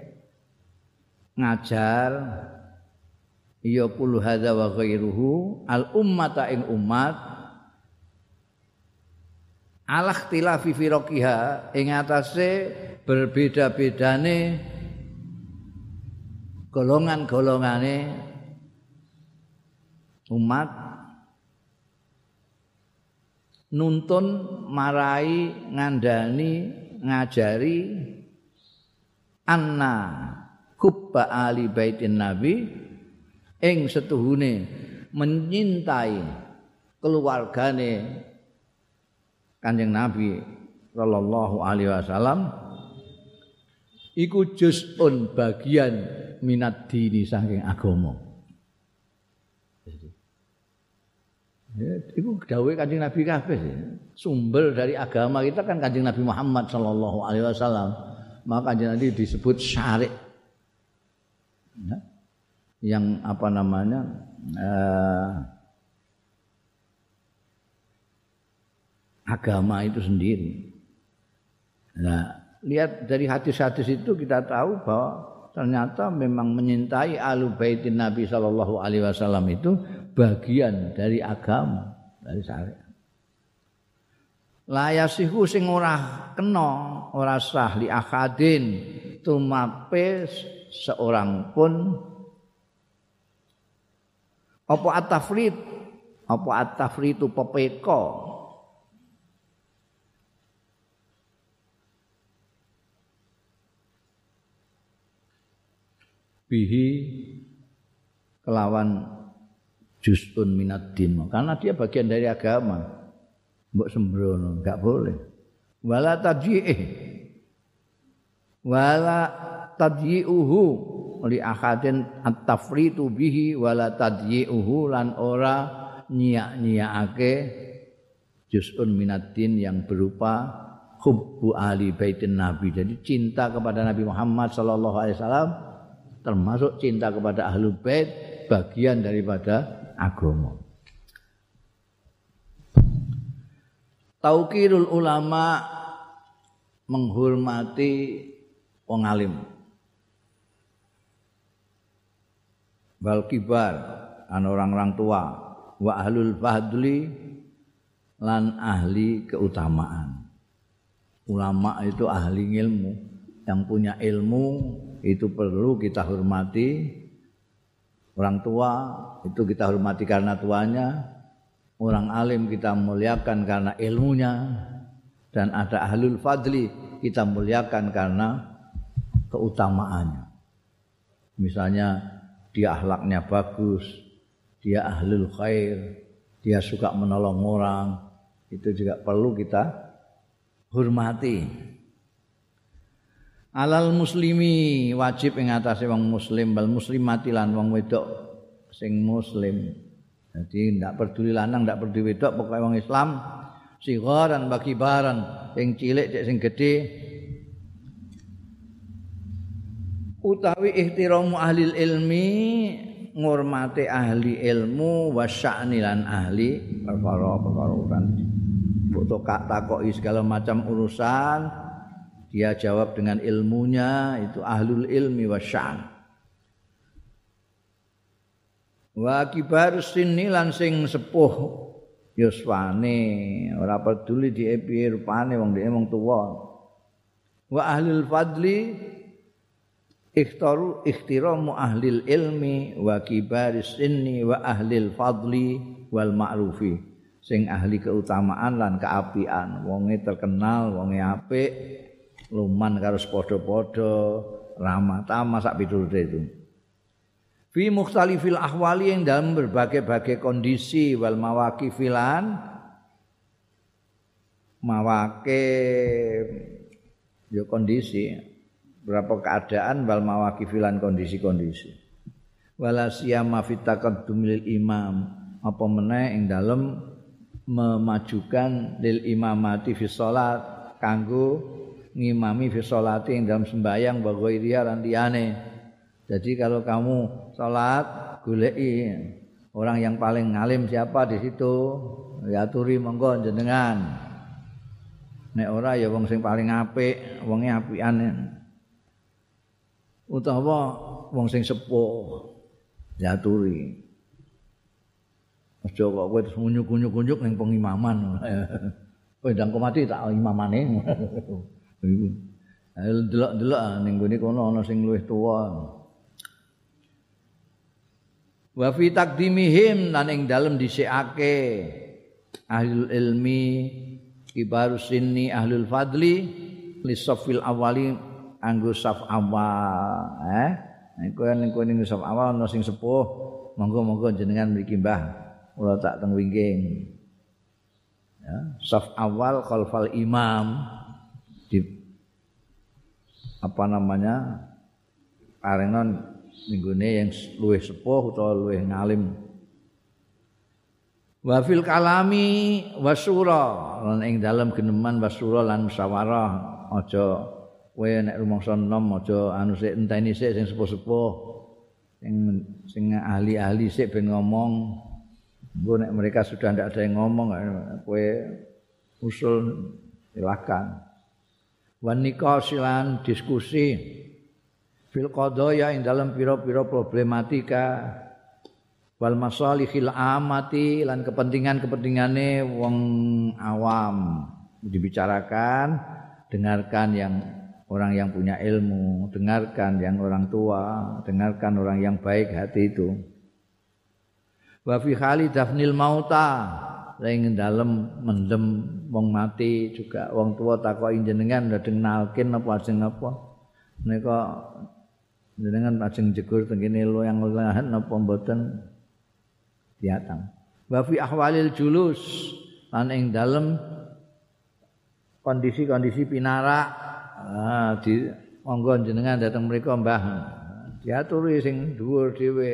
ngajar ya kullu hadza wa ghairuhu al ummata ing umat ala ikhtilafi firqiha ing atase berbeda-bedane golongan-golongane umat nuntun marai ngandani ngajari anna hubba ali baitin nabi ing setuhune menyintai keluargane Kanjeng Nabi sallallahu alaihi wasallam iku juz'un bagian minad dini saking agama. Ya, itu dawuh Kanjeng Nabi kabeh. Sumber dari agama kita kan Kanjeng Nabi Muhammad sallallahu alaihi wasallam. Maka Kanjeng Nabi disebut syari'. Ya. Yang apa namanya? Eh, agama itu sendiri. Nah, lihat dari hadis-hadis itu kita tahu bahwa ternyata memang menyintai Ahlul Baitin Nabi sallallahu alaihi wasallam itu bagian dari agama, dari syariat. La yasihu sing ora kena, ora sah li akadin tumape seorang pun apa at-tafrid, apa at-tafritu pepeko bihi kelawan juz'un minaddin, karena dia bagian dari agama. Mbok sembrono enggak boleh. Wala tadyi'ih wala tadyi'uhu li ahadin at-tafritu bihi wala tadyi'uhu lan ora nyiak-nyiakake juz'un minaddin yang berupa hubbu ahli baitin nabi. Jadi cinta kepada Nabi Muhammad sallallahu alaihi wasallam termasuk cinta kepada Ahlul Bait bagian daripada agama. Taukirul ulama menghormati wong alim. Wal kibar an orang-orang tua wa ahlul fadli lan ahli keutamaan. Ulama itu ahli ilmu, yang punya ilmu itu perlu kita hormati. Orang tua itu kita hormati karena tuanya, orang alim kita muliakan karena ilmunya, dan ada ahlul fadli kita muliakan karena keutamaannya. Misalnya dia akhlaknya bagus, dia ahlul khair, dia suka menolong orang, itu juga perlu kita hormati. Alal muslimi wajib ing atase wong muslim bal muslimati lan wong wedok sing muslim. Jadi ndak peduli lanang ndak peduli wedok pokoke wong Islam sigaran bagi baran sing cilik cek sing gedhe utawi ihtiramu ahli ilmi ngurmati ahli ilmu wasya'ni lan ahli perkara-perkara urusan. Mbok takoki segala macam urusan dia jawab dengan ilmunya, itu ahlul ilmi wasya'an. Wa kibarus sinni lan sing sepuh yuswane ora peduli di piye rupane wong dhewe wong tuwa. Wa ahlul fadli ikhtaru ikhtiramu ahlil ilmi wa kibaris sinni wa ahlil fadli wal ma'rufi. Sing ahli keutamaan lan keapian, wonge terkenal, wonge apik. Luman karo padha-padha ramah tamah sak piturute itu. Fi mukhtalifil ahwali yang dalam berbagai-bagai kondisi wal mawaqifilan mawaqif ya kondisi berapa keadaan wal mawaqifilan kondisi-kondisi. Wala siyama fit taqaddumil imam apa meneh ing dalem memajukan lil imamati fi shalat kanggo ngimami fi sholati ing dalam sembahyang wa ghairiya lan liyane. Jadi kalau kamu salat goleki orang yang paling ngalim siapa di situ, ya aturi monggo jenengan. Nek ora ya wong sing paling apik, wonge apikan. Utawa wong sing sepuh ya aturi. Aja kok kowe ngunyuk-ngunyuk ning pengimaman. Kowe ndang mati tak imamane. Iku. Delok-delok ning gone kono ana sing luwih tuwa. Wa fi taqdimihim lan ing dalem dhisikake ahlul ilmi kibarus sinni ahlul fadli li safil awali anggo saf awal eh nek ning ning saf awal ana sing sepuh monggo-monggo jenengan mriki Mbah kula tak teng wingking ya saf awal khalfal imam di apa namanya parengan ninggone yang luwih sepuh utawa luwih ngalim. Wa fil kalami wasyura lan ing dalem geneman wasyura lan musyawarah aja kowe nek rumangsa enom aja anu sik enteni sik sing sepuh-sepuh sing sing ahli-ahli sik ben ngomong. Engko nek mereka sudah ndak ada yang ngomong kowe usul silakan. Wan nikasilan diskusi fil qadaya ing dalam pira-pira problematika wal masalihil amati lan kepentingan-kepentingane wong awam dibicarakan, dengarkan yang orang yang punya ilmu, dengarkan yang orang tua, dengarkan orang yang baik hati itu. Wa fi hali dafnil mauta ing dalem mendem wong mati juga wong tua takoki jenengan ndedeng nalkin apa ajeng apa menika jenengan ajeng jegur teng kene loyang-loyangan apa mboten diatang. Wa fi ahwalil julus lan ing dalem kondisi-kondisi pinarak ah di monggo jenengan dateng mriku Mbah diaturi sing dhuwur dhewe.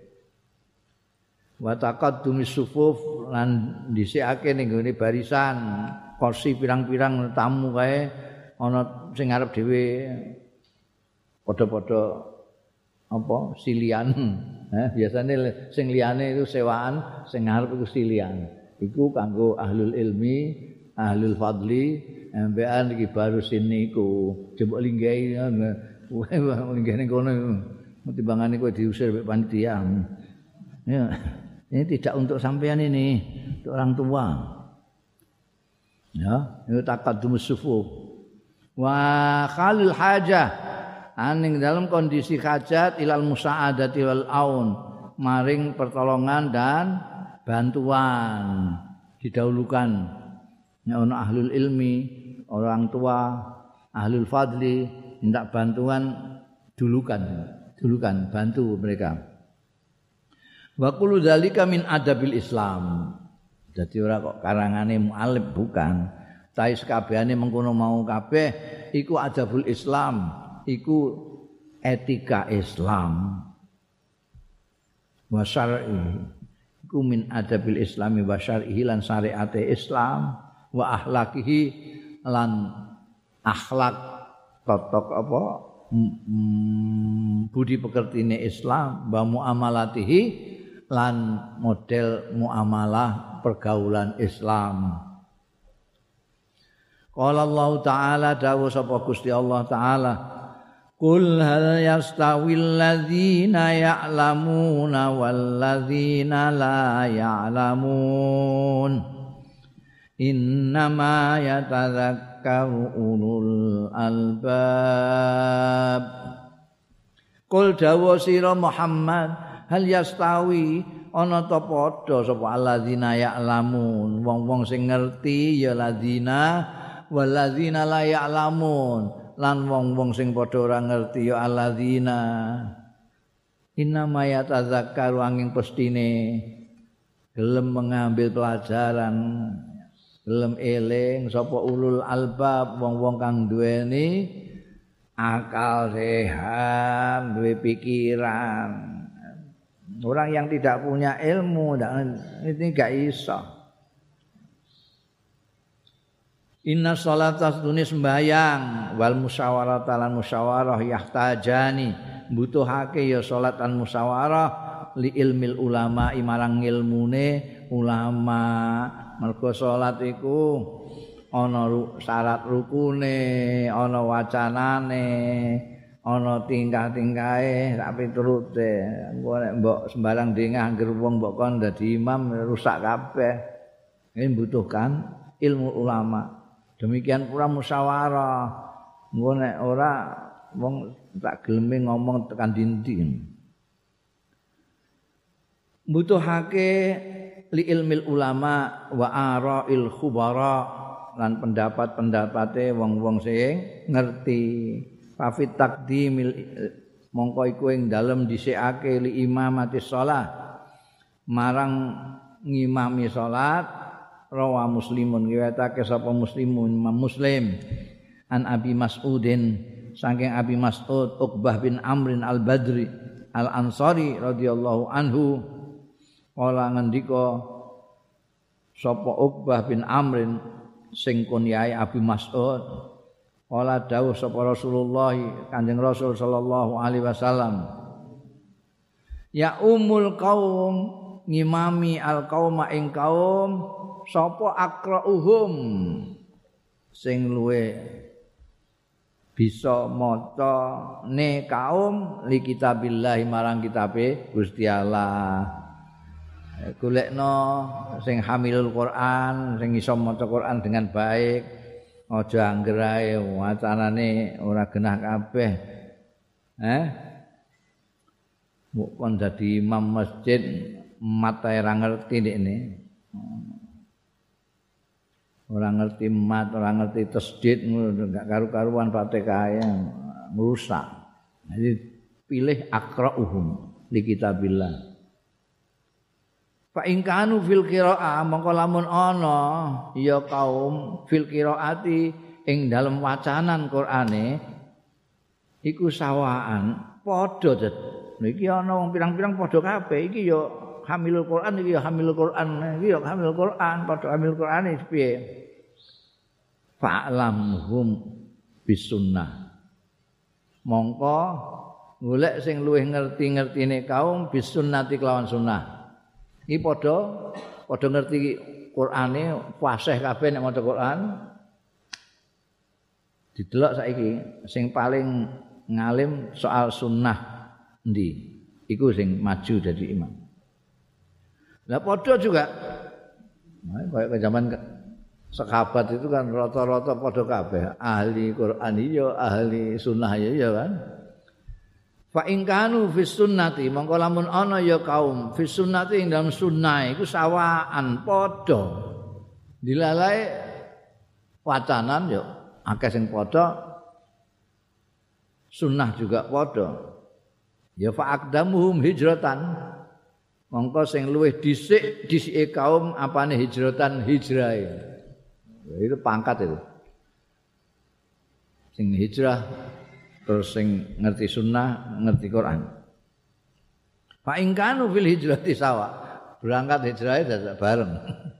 Wa taqaddumis sufuf lan dhisikake ning gone barisan kursi pirang-pirang tamu kae ana sing ngarep dhewe padha-padha apa silian eh biasane sing liyane itu sewaan sing ngarep iku silian iku kanggo ahlul ilmi ahlul fadli ambekan iki baru sini iku jebok linggahi linggahne kono timbangane kowe diusir mek panitia ya. Ini tidak untuk sampean ini, untuk orang tua. Ya, itu taqaddumus sufuf. Wa khalil hajah aning dalam kondisi hajat ilal musa'adati wal aun maring pertolongan dan bantuan didahulukan. Ya ono ahlul ilmi, orang tua, ahlul fadli minta bantuan dulukan, dulukan bantu mereka. Wa kullu dzalika min adabil Islam. Dadi ora kok karangane mu'allif bukan. Tapi sekabehane mengkono mau kabeh iku adabul Islam, iku etika Islam. Wa syar'i iku min adabil Islami wa syar'ihi lan syariate Islam wa akhlaqihi lan akhlak totok apa mm, budi pekertine Islam wa muamalatihi lan model muamalah pergaulan Islam. Qala Allah Ta'ala dawuh sapa Gusti Allah Ta'ala Qul hal yastawil ladzina ya'lamuna wal ladzina la ya'lamun innama yatadzakkaru ulul albab. Qul dawuh sira Muhammad hal yastawi ana ta padha sapa alladzina ya'lamun wong-wong sing ngerti ya ladzina walladzina la ya'lamun lan wong-wong sing padha ora ngerti ya alladzina innama yatadzakkaru angin pestine gelem mengambil pelajaran gelem eling sapa ulul albab wong-wong kang duweni akal sehat duwe pikiran. Orang yang tidak punya ilmu ini gak iso. Inna sholata sedune sembayang wal musyawarata lan musyawarah yahtajani butuhake ya salat lan musyawarah li ilmil ulama marang ilmune ulama. Mergo salat iku ana syarat rukune, ana wacanane, ana tingkah-tingkahe sak piturute. Engko nek mbok sembarang dengah anggere wong mbok kon dadi imam rusak kabeh. Ini membutuhkan ilmu ulama. Demikian pula musyawarah. Engko nek ora wong tak geleme ngomong tekan dindi. Butuhake li ilmil ulama wa ara'il khubara lan pendapat-pendapate wong-wong sing ngerti. Fafit takdimil mongko iku ing dalem dhisikake li imamati shalah marang ngimami salat rawa muslimun riwayatake sapa muslimun Imam Muslim an Abi Mas'udin saking Abi Mas'ud Uqbah bin Amrin al-Badri al-Ansari radhiyallahu anhu kala ngendika sapa Uqbah bin Amrin sing kunyahe Abi Mas'ud Wala dawuh sapa Rasulullah Kanjeng Rasul sallallahu alaihi wasallam ya umul qaum ngimami al qauma ing kaum sapa aqra'uhum sing luwe bisa maca ne kaum li kitabillah marang kitabe Gusti Allah. Golekno sing hamilul Quran sing iso maca Quran dengan baik. Aja angger ae wacanane ora genah kabeh. Eh? Mbok kon dadi imam masjid mat ae ora ngerti ndekne. Ora ngerti mat, ora ngerti tasdid ngono enggak karu-karuan Fatihah merusak. Jadi pilih aqra'uhum li kitabillah. Fa in kanu fil qiraah mongko lamun ana ya kaum fil qiraati ing dalem wacanan Qur'ane iku sawaan padha det. Niki ana wong pirang-pirang padha kabeh iki ya hamilul Qur'an iki ya hamilul Qur'an iki ya hamilul Qur'an padha hamilul Qur'ane piye. Fa'lamhum bisunnah. Mongko golek sing luwih ngerti-ngertine kaum bisunnati kelawan sunnah. Iki padha padha ngerti Qur'ane fasih kabeh nek maca Qur'an. Didelok saiki sing paling ngalim soal sunnah endi? Iku sing maju dadi imam. Lah padha juga. Nah, kayak zaman sahabat itu kan rata-rata padha kabeh ahli Quran iya ahli sunnah ya kan. Fa in kanu fis sunnati mongko lamun ana ya kaum fis sunnati ing dalam sunnah iku sawaan padha dilalae wacanan yo akeh sing padha sunnah juga padha ya fa aqdamuhum hijratan mongko sing luwih dhisik dhisike kaum apane hijratan hijrahe itu pangkat itu sing hijrah terus sing ngerti sunnah, ngerti Quran. Fa in kanu fil hijrati sawa. Berangkat hijrah dadak bareng.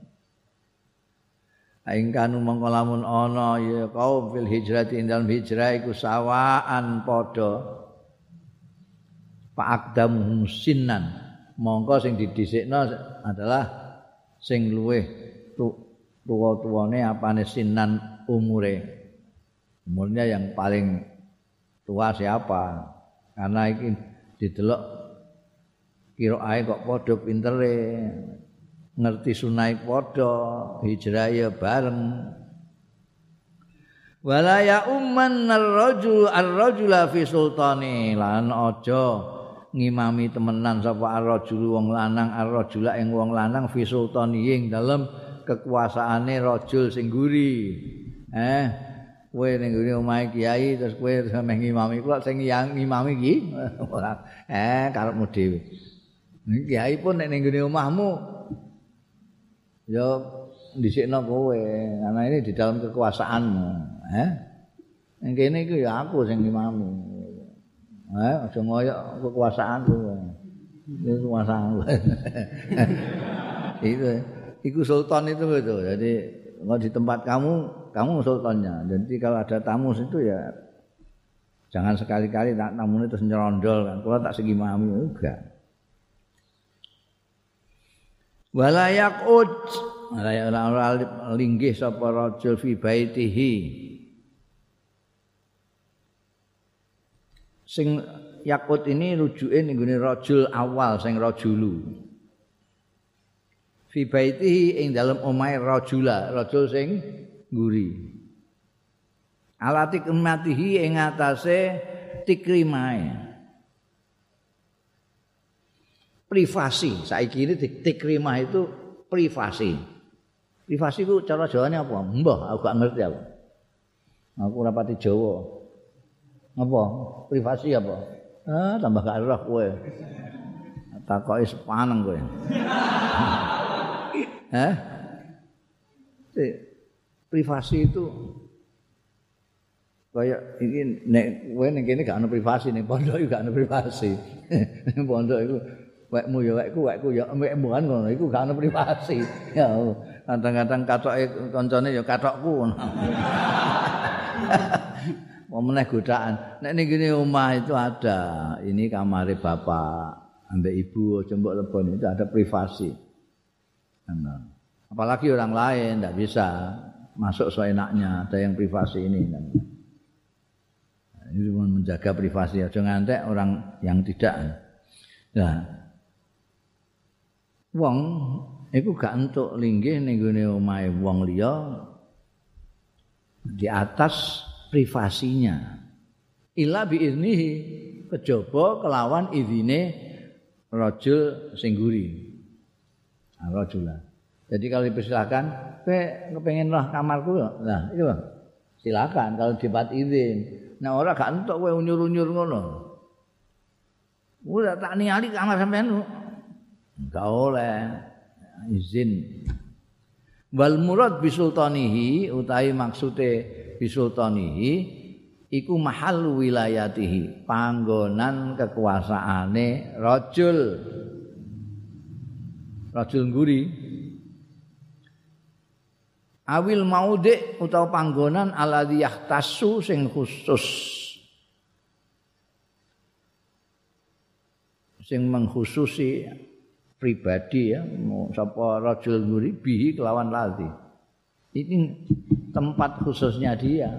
Fa in kanu mongko lamun ana ya kaum fil hijrati dalam hijrah iku sawaan padha. Fa aqdamuhum sinnan. Mongko sing didhisikno adalah sing luweh tuwa-tuwane apane sinnan umure. Umurnya yang paling tua siapa? Karena iki didelok kiraae kok padha pintere, ngerti sunai padha, hijrah ya bareng. Wala ya umman ar-rajul ar-rajula fi sultani lan aja ngimami temenan sapa ar-rajul wong lanang ar-rajula ing wong lanang fi sultani ing dalem kekuasaane rajul sing guri. Eh kowe ning ngene omahe kiai terus kowe sampe ngimami kok sing ngimami iki ora eh karepmu dhewe. Kiai pun nek ning ngene omahmu ya dhisikno kowe karena ini di dalam kekuasaanmu, eh. Ning kene iku ya aku sing ngimami. Eh aja ngoyok kekuasaanku. Ini kekuasaanku. Itu iku sultan itu gitu. Jadi kalau di tempat kamu, kamu sultannya. Jadi kalau ada tamu situ ya jangan sekali-kali tak tamu itu nyerondol kan. Kalau tak segi mami enggak. Wala yaqud ora linggih sapa rajul fi baitihi. Sing yaqud ini rujuke ning gone rajul awal sing rajulu. Fi baitihi ing dalem omahe rajula, rajul sing nguri. Alati kematihi ing atase tikrimae. Privasi, saiki ini tikrimah itu privasi. Privasi ku cara Jawane apa? Mbah, aku gak ngerti aku. Aku ora pati Jawa. Apa? Privasi apa? Ah, tambah gak roh kowe. Takoki sepaneng kowe. Hah? Privasi itu kayak iki nek kowe ning kene gak ono privasi ning pondok iki gak ono privasi. Ning pondok iku wekmu ya wekku wekku ya wekmu kan ngono iku gak ono privasi. Ya kadang-kadang katoke kancane ya katokku ngono. Mau meneh godaan. Nek ning kene omah itu ada, ini kamare bapak, ambek ibu aja mbok lebon itu ada privasi. Nah, apalagi orang lain tidak bisa masuk seenaknya, ada yang privasi ini. Nah, ini menjaga privasi, jangan ngantek orang yang tidak. Nah, wong iku gak entuk linggih ning gone omahe wong liya di atas privasinya. Illa bi iznihi kejaba kelawan izine rajul sing guri. Rajula. Jadi kalau dipersilakan, kowe kepengin lah kamarku, nah itu silakan kalau dapat izin. Nah ora gak entuk kowe unyur-unyur ngono. Ora tak ningali kamar sampean. Enggak oleh izin. Wal murad bisultanihi utawi maksude bisultanihi iku mahal wilayatihi, panggonan kekuasaane rajul. Rajul nguri awil maudhi utawa panggonan alladzi yahtassu sing khusus sing mengkhususi pribadi ya sapa rajul nguri bihi kelawan ladzi ini tempat khususnya dia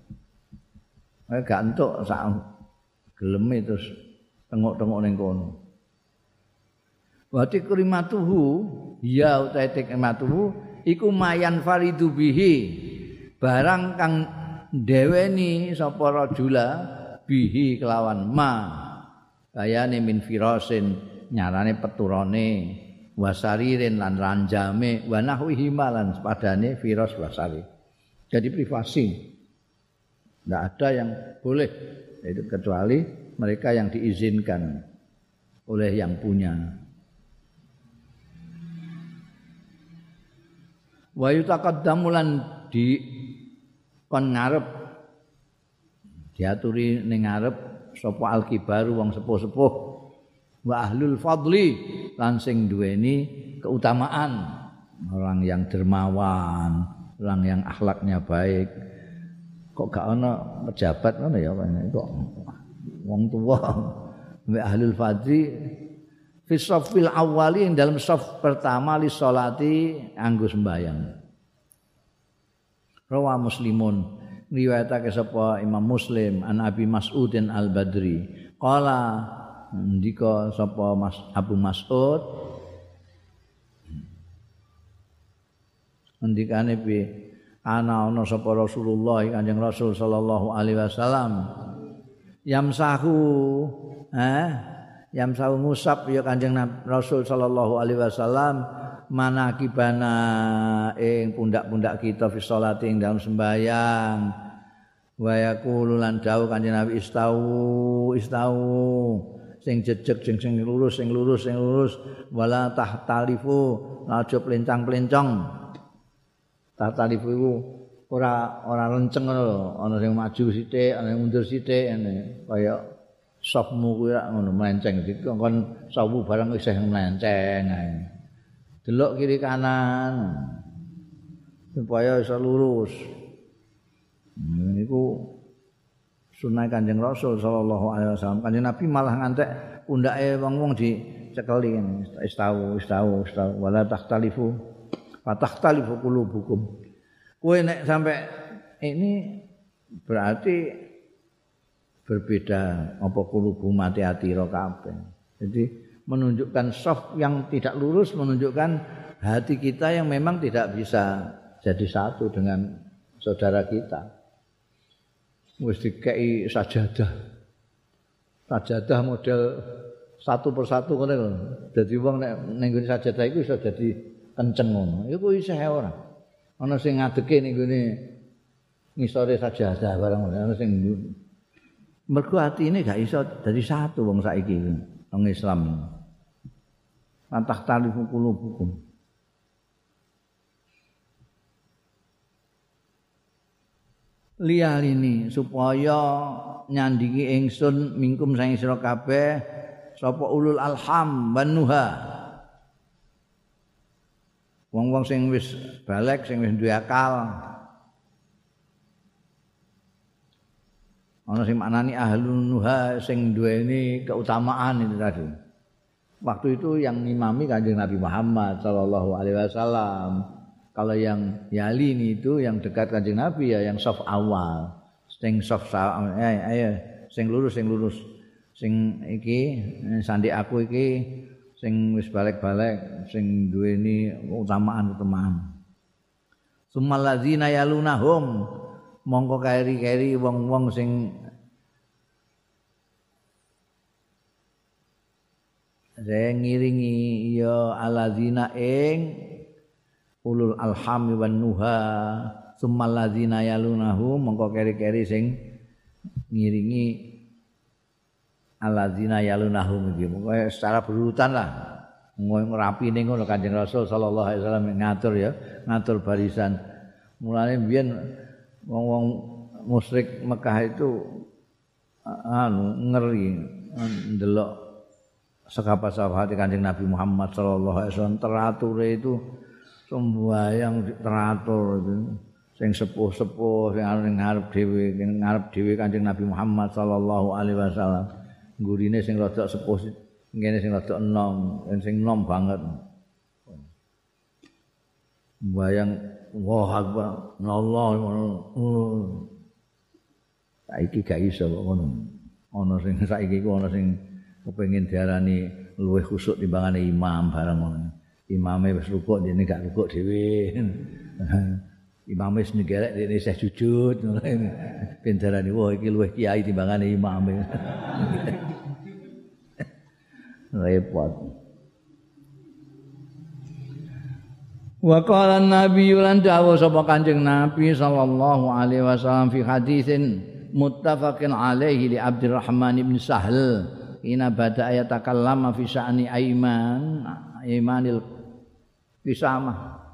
gak entuk sak geleme terus tengok-tengok ning kono. Wa tikrimatuhu ya utahe tikrimatuhu iku mayan faridu bihi barang kang ndeweni sapa rajula bihi kelawan ma bayane min firasin nyarane peturane wasaririn lan ranjame wa nahwihi malan padane firas wasari. Jadi privasi. Tidak ada yang boleh itu kecuali mereka yang diizinkan oleh yang punya. Wa yutaqaddamu lan di kon ngarep diaturi ning ngarep sapa al-kibaru wong sepuh-sepuh wa ahlul fadli lan sing duweni keutamaan, orang yang dermawan, orang yang akhlaknya baik. Kok gak ana pejabat ngono ya kok wong tua wa ahlul fadli fi shaffil awwali ing dalam shaf pertama li sholati anggo sembahyang. Rawa Muslimun riwayatake sapa Imam Muslim an Abi Mas'udin Al-Badri qala ndika sapa Mas Abu Mas'ud ndikane piye ana ana sapa Rasulullah Kanjeng Rasul sallallahu alaihi wasallam yamsahu eh yamsahu ngusap ya Kanjeng Rasul sallallahu alaihi wasallam manakibana ing pundak-pundak kita fi sholati ing dalam sembahyang wa yaqulu lan dawuh Kanjeng Nabi istau istau sing jejeg sing sing lurus sing lurus sing lurus wala tahtalifu aja plencang-plencong. Tahtalifu iku ora ora lenceng ngono lho, ana sing maju sithik, ana sing mundur sithik ngene kaya sopmu kuwi ngono melenceng dikon sawu barang isih melenceng ae. Delok kiri kanan supaya bisa lurus. Niku sunah Kanjeng Rasul sallallahu alaihi wasallam. Kanjeng Nabi malah ngantek pundake wong-wong dicekeli istau istau istau wala takhtalifu fatakhtalifu qulubukum. Kowe nek sampai ini berarti berbeda apa qulubu mati ati ro kabeh. Jadi menunjukkan shaf yang tidak lurus menunjukkan hati kita yang memang tidak bisa jadi satu dengan saudara kita. Wis dikei sajadah. Sajadah model satu persatu ngene lho. Dadi wong nek ning ngene sajadah iku iso dadi kenceng ngono. Iku isih ora. Ana sing ngadeke ning ngene ngisore sajadah barang ngono. Ana sing mergo atine gak iso dadi satu wong saiki wong Islam. Antah talifu qulubukum. Liyal ini supaya nyandingi ingsun mingkum sang sira kabeh sapa ulul alham wan nuha. Wong-wong sing wis balek sing wis duwe akal. Ana sing maknani ahlun nuha sing duweni keutamaan itu tadi. Waktu itu yang ngimami Kanjeng Nabi Muhammad sallallahu alaihi wasallam. Kalau yang yali ini itu yang dekat Kanjeng Nabi ya yang shaf awal. Sing shaf eh ayo sing lurus sing lurus. Sing iki sandi aku iki sing wis balik-balik sing duweni utamaan-utamaan. Sumal ladzina yalunahum mongko keri-keri wong-wong sing saya ngiringi ya aladzina ing ulul alhami wan nuha summal ladzina yalunahu mongko keri-keri sing ngiringi aladzina yalunahu iki pokoke secara berurutan lah ngrapine ngono Kanjeng Rasul sallallahu alaihi wasallam ngatur ya ngatur barisan mulane mbiyen wong-wong musyrik Mekah itu anu ngeri ndelok sahabat-sahabat Kanjeng Nabi Muhammad sallallahu alaihi wasallam teratur itu sembahyang teratur itu sing sepuh-sepuh sing arep ngarep dhewe ngarep dhewe Kanjeng Nabi Muhammad sallallahu alaihi wasallam gurine sing rada sepuh ngene sing rada enom sing enom banget sembahyang wah akbar Allah saiki gak iso kok ngono ana sing saiki ku ana sing kepengin diarani luwih khusuk timbangane imam barang ngono. imame wis rukuk dene gak rukuk dhewe. Imame wis ngelek dene isih sujud ngono. Ben darani wah iki luwih kiai timbangane imame. Repot. Wa qala an-nabi lan dawuh sapa Kanjeng Nabi sallallahu alaihi wasallam fi hadisin muttafaqin alaihi li Abdurrahman bin Sahl ina bada ayatakallama fi sya'ni aiman imanil kisamah.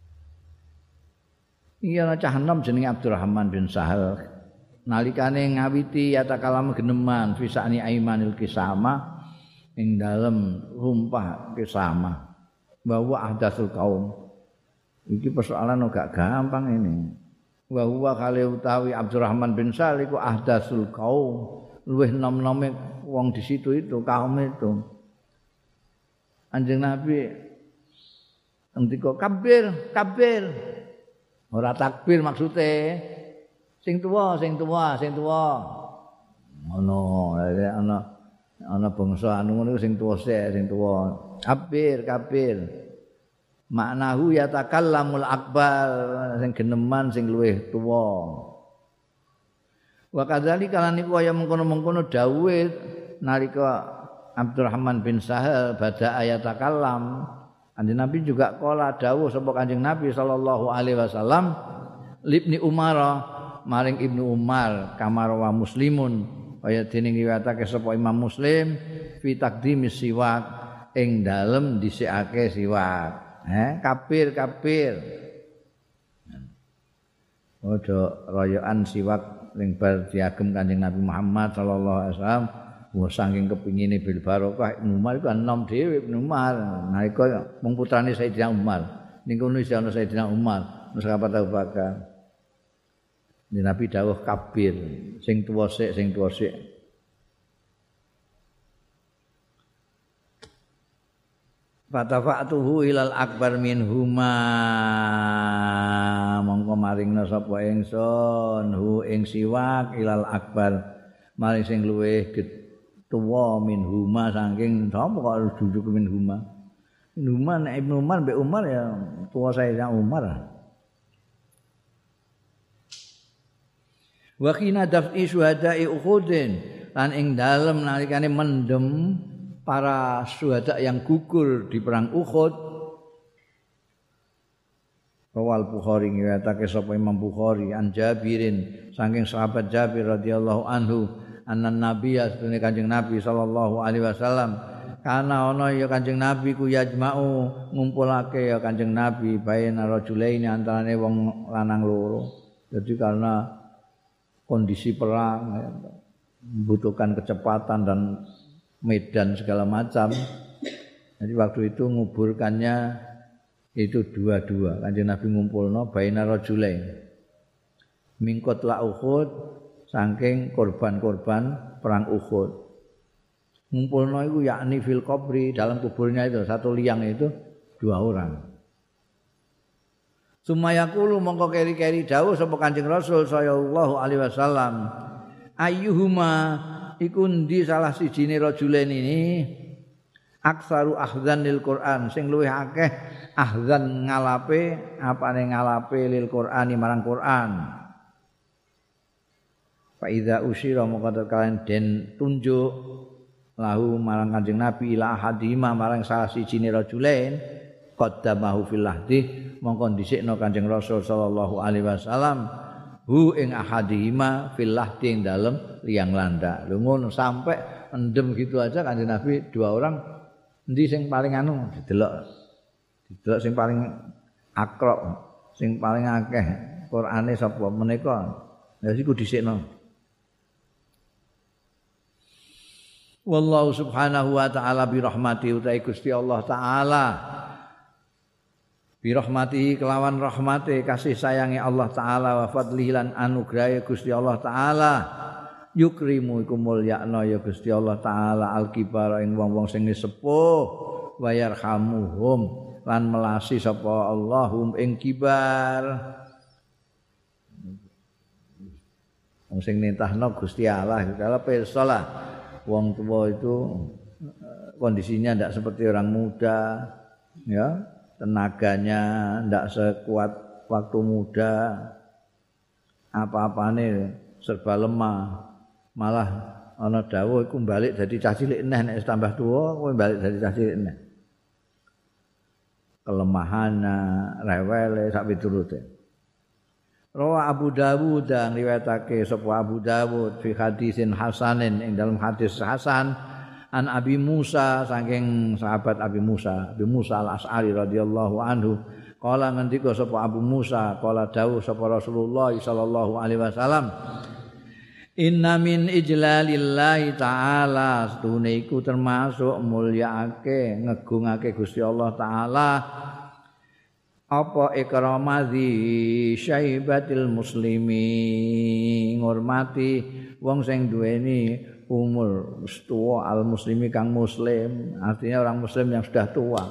Iya ana cah enom jenenge Abdurrahman bin Sahl nalikane ngawiti yatakalama geneman fi sya'ni aimanil kisamah ing dalem rumpah kisamah bahwa ahdatsul qaum. Iki persoalan gak gampang ini. Wa huwa kale utawi Abdurrahman bin Sahl iku ahdatsul qaum, luwih nom-nome wong di situ itu kaum itu. Kanjeng Nabi ngendika kabir, kabir. Ora takbir maksude. Sing tuwa, sing tuwa, sing tuwa. Ngono, ana ana bangsa anu ngono sing tuwa sik, sing tuwa. Kabir, kabir. Maknahu yatakallamul akbar sing geneman sing luwih tuwa. Wa kadzalika lan iku kaya mengkono-mengkono dawuhe nalika Abdurrahman bin Sahal bada ayatakallam. Kanjeng Nabi juga kala dawuh sapa Kanjeng Nabi sallallahu alaihi wasallam libni Umar maring Ibnu Umar kamar wa muslimun kaya dene riwayatake sapa Imam Muslim fi taqdimis siwak ing dalem dhisikake siwak. Eh, kapir kapir. Ojo royokan siwak ning bar diagem Kanjeng Nabi Muhammad sallallahu alaihi wasallam. Wah saking kepingine bil barokah Ibnu Umar iku enom dhewe Ibnu Umar. Nalika mung putrane Sayyidina Umar. Ning kono isih ana Sayyidina Umar, terus sahabat Abu Bakar. Nabi dawuh kabir, sing tuwa sik, sing tuwa sik. Fatafa'tuhu ilal akbar minhuma mongko maringna sapa ingsun hu ing siwak ilal akbar maring sing luwih tuwa minhuma saking sapa kok dujuk minhuma minhuma nek Ibnu Umar mbek Umar ya tuwa Sayyidina Umar. Wa khina daf'i syuhada'i Uhudin lan ing dalem nalikane mendem para syuhada yang gugur di perang Uhud. Rawal Bukhari ngriwayatake sapa Imam Bukhari an Jabirin saking sahabat Jabir radhiyallahu anhu annan nabiyya sunne Kanjeng Nabi sallallahu alaihi wasallam kana ana ya Kanjeng Nabi ku yajma'u ngumpulake ya Kanjeng Nabi baina rajulaini antarane wong lanang loro. Jadi karena kondisi perang membutuhkan kecepatan dan medan segala macam. Jadi waktu itu nguburkannya itu dua-dua. Kanjeng Nabi ngumpulno baina rajulain. Mingkot la Uhud saking korban-korban perang Uhud. Ngumpulno itu yakni fil qabri dalam kuburnya itu satu liang itu dua orang. Sumayaqulu mongko keri-keri dawuh sapa Kanjeng Rasul sallallahu alaihi wasallam ayyuhuma iku ndi salah sijine rajulen ini aksaru ahdzan lil Quran sing luwih akeh ahdzan ngalape apane ngalape lil Qurani marang Quran. Fa iza usyira mongko kalian den tunjuk lahu marang Kanjeng Nabi ila ahadima marang salah sijine rajulen qaddamahu fil lahdi mongko dhisikno Kanjeng Rasul sallallahu alaihi wasallam hu ing ahadihima fil lahdi ing dalem liang landak. Lho ngono sampai endem gitu aja Kanjeng Nabi dua orang endi sing paling anu didelok. Didelok sing paling akrab, sing paling akeh Qur'ane sapa menika. Ya iku dhisikno. Wallahu subhanahu wa ta'ala bi rahmati utai Gusti Allah taala bi rahmatihi kelawan rahmate kasih sayangi Allah taala wa fadlihi lan anugrahe Gusti Allah taala yukrimu iku mulyakna ya Gusti Allah taala al-kibar ing wong-wong sing sepuh wa yarhamuhum lan melasi sapa Allahum ing kibar wong sing nintahno Gusti Allah kala pirsa lah wong tua itu kondisinya tidak seperti orang muda ya, tenaganya ndak sekuat waktu muda, apa-apane serba lemah. Malah ana dawuh iku balik dadi cah cilik neh nek tambah tuwa kowe balik dadi cah cilik neh. Kelemahannya, rewele sak piturute. Rawa Abu Dawud dan riwayatake sapa Abu Dawud fi hadisin hasanin ing dalam hadis hasan an Abi Musa saking sahabat Abi Musa, Abi Musa Al-Asy'ari radhiyallahu anhu kala ngendika sapa Abu Musa kala dawuh sapa Rasulullah sallallahu alaihi wasallam inna min ijlalillahi ta'ala stune iku termasuk mulyaake ngegungake Gusti Allah taala apa ikramati syaibatil muslimi ngurmati wong sing duweni umur tua al muslimi kang muslim artinya orang muslim yang sudah tua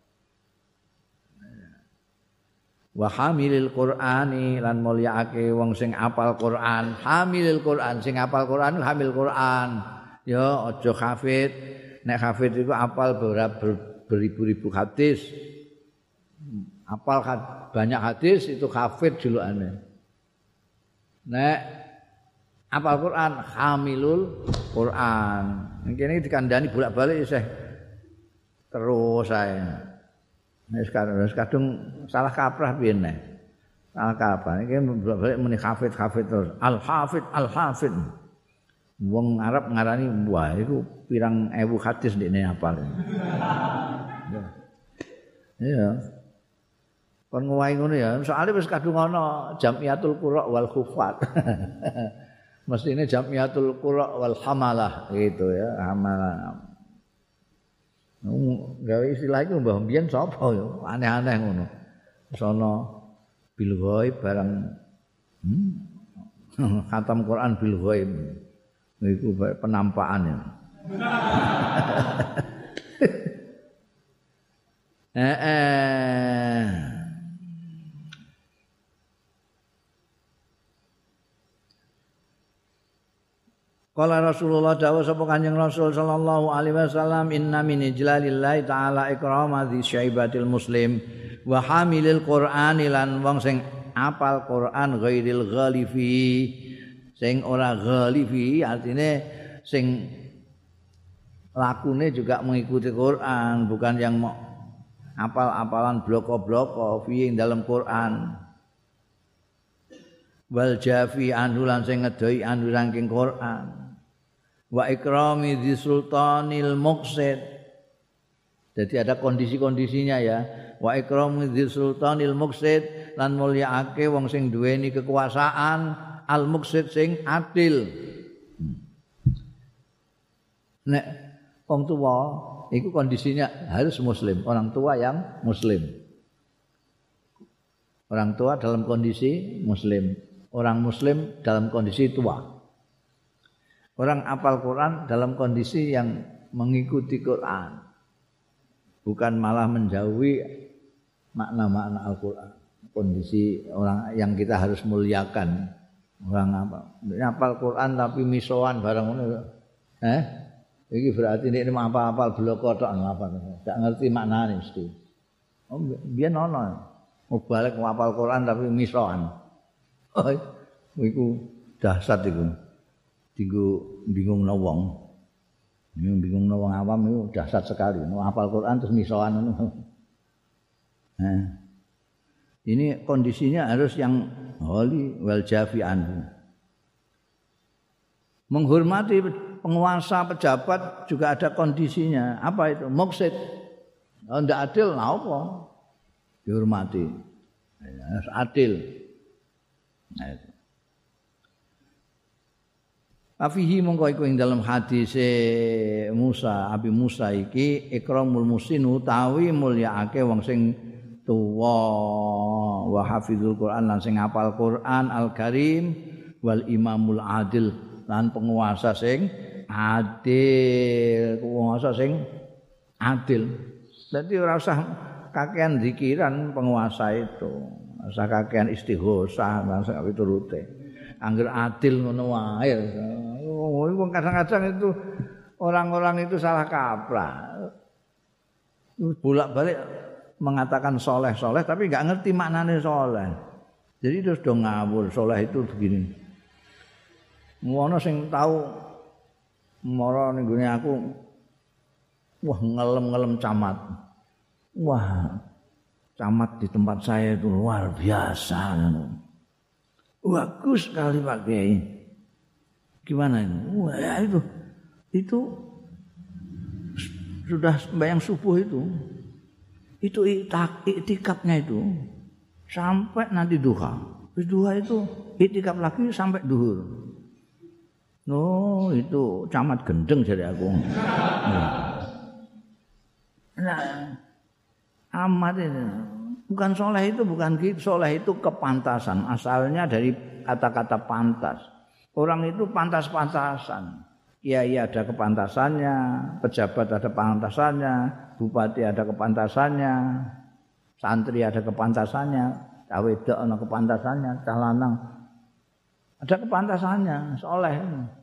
wa hamilil qur'ani lan mulyaake wong sing apal Quran hamilil Quran sing apal Quran hamil Quran ya aja hafid nek hafid iku apal beribu-ribu hadis apal banyak hadis itu hafid julukane. Nek apal Quran hamilul Quran. Kene dikandani bolak-balik isih terus ae. Nek sekarang kadung salah kaprah piye nek. Salah kaprah iki bolak-balik muni hafid-hafid terus. Al-hafid al-hafid. Wong Arab ngarani wah iku pirang ewu hadis ndekne hafal. Iya. Kon ngowahi ngono ya, soalnya wis kadung ana Jamiatul Qura wal Khufat. Mestine Jamiatul Qura wal Hamalah gitu ya, hamalah. Gawe istilah iku mbah mbiyen sapa ya, aneh-aneh ngono. Sono bil ghaib barang hmm? Khatam Quran bil ghaib. Iku penampakan ya. Eh eh Qala Rasulullah dawuh sapa Kanjeng Rasul sallallahu alaihi wasallam inna min ijlalillahi ta'ala ikrama dzi syaibatil muslim wa hamilil qur'ani lan wong sing apal Quran ghairil ghalifi sing ora ghalifi artine sing lakune juga mengikuti Quran bukan yang mau apal-apalan bloko-bloko fi dalam Quran wal jafi anhu lan sing ngedoi anhu saking Quran wa ikrami di sultanil muqsid. Jadi ada kondisi-kondisinya ya. Wa ikrami di sultanil muqsid lan mulyaake wong sing duweni kekuasaan al muqsid sing adil. Nek wong tua itu kondisinya harus muslim, orang tua yang muslim. Orang tua dalam kondisi muslim, orang muslim dalam kondisi tua. Orang apal Quran dalam kondisi yang mengikuti Quran. Bukan malah menjauhi makna-makna Al-Quran. Kondisi orang yang kita harus muliakan. Orang apa? Apal Quran tapi misoan barang ngono. Eh? Iki berarti ini apa-apal bloko tok apa. Enggak ngerti maknane mesti. Oh, biyen ono. Mau balik apal Quran tapi misoan. Oh, iku dahsyat iku. Tinggu bingung wong. Bingung wong awam itu dahsyat sekali. Mau hafal Quran terus misoan ngono. Nah. Ini kondisinya harus yang holy wal jafi anhu. Menghormati penguasa pejabat juga ada kondisinya. Apa itu? Muqsid. Kalau tidak adil nah apa? Dihormati. Harus adil. Nah, itu. Afihi mongko iku ing dalam hadis Musa, Abi Musa iki ikramul muslimin utawi mulyaake wong sing tuwa wa hafizul Quran lan sing hafal Quran Al-Karim wal imamul adil lan penguasa sing adil, penguasa sing adil. Dadi ora usah kakean zikiran penguasa itu, ora usah kakean istighosah lan sak piturute. Angger adil ngono wae. Oh, wong kadang-kadang itu orang-orang itu salah kaprah. Bolak-balik mengatakan soleh-soleh tapi enggak ngerti maknanya soleh. Jadi terus do ngawur, soleh itu begini. Ngono sing tahu mara ning gone aku wah ngelem-ngelem camat. Wah, camat di tempat saya itu luar biasa. Bagus sekali Pak Kiai. Gimana ini? Wah, ya itu itu sudah sembahyang subuh itu. Itu iktikafnya itu sampai nanti duha. Terus duha itu iktikaf lagi sampai duhur. Oh, itu camat gendeng jadi aku. Nah, amat itu. Bukan soleh itu bukan gitu. Soleh itu kepantasan. Asalnya dari kata-kata pantas. Orang itu pantas-pantasan. Kiai ada kepantasannya, pejabat ada kepantasannya, bupati ada kepantasannya, santri ada kepantasannya, cah wedok ada kepantasannya, cah lanang ada kepantasannya, soleh.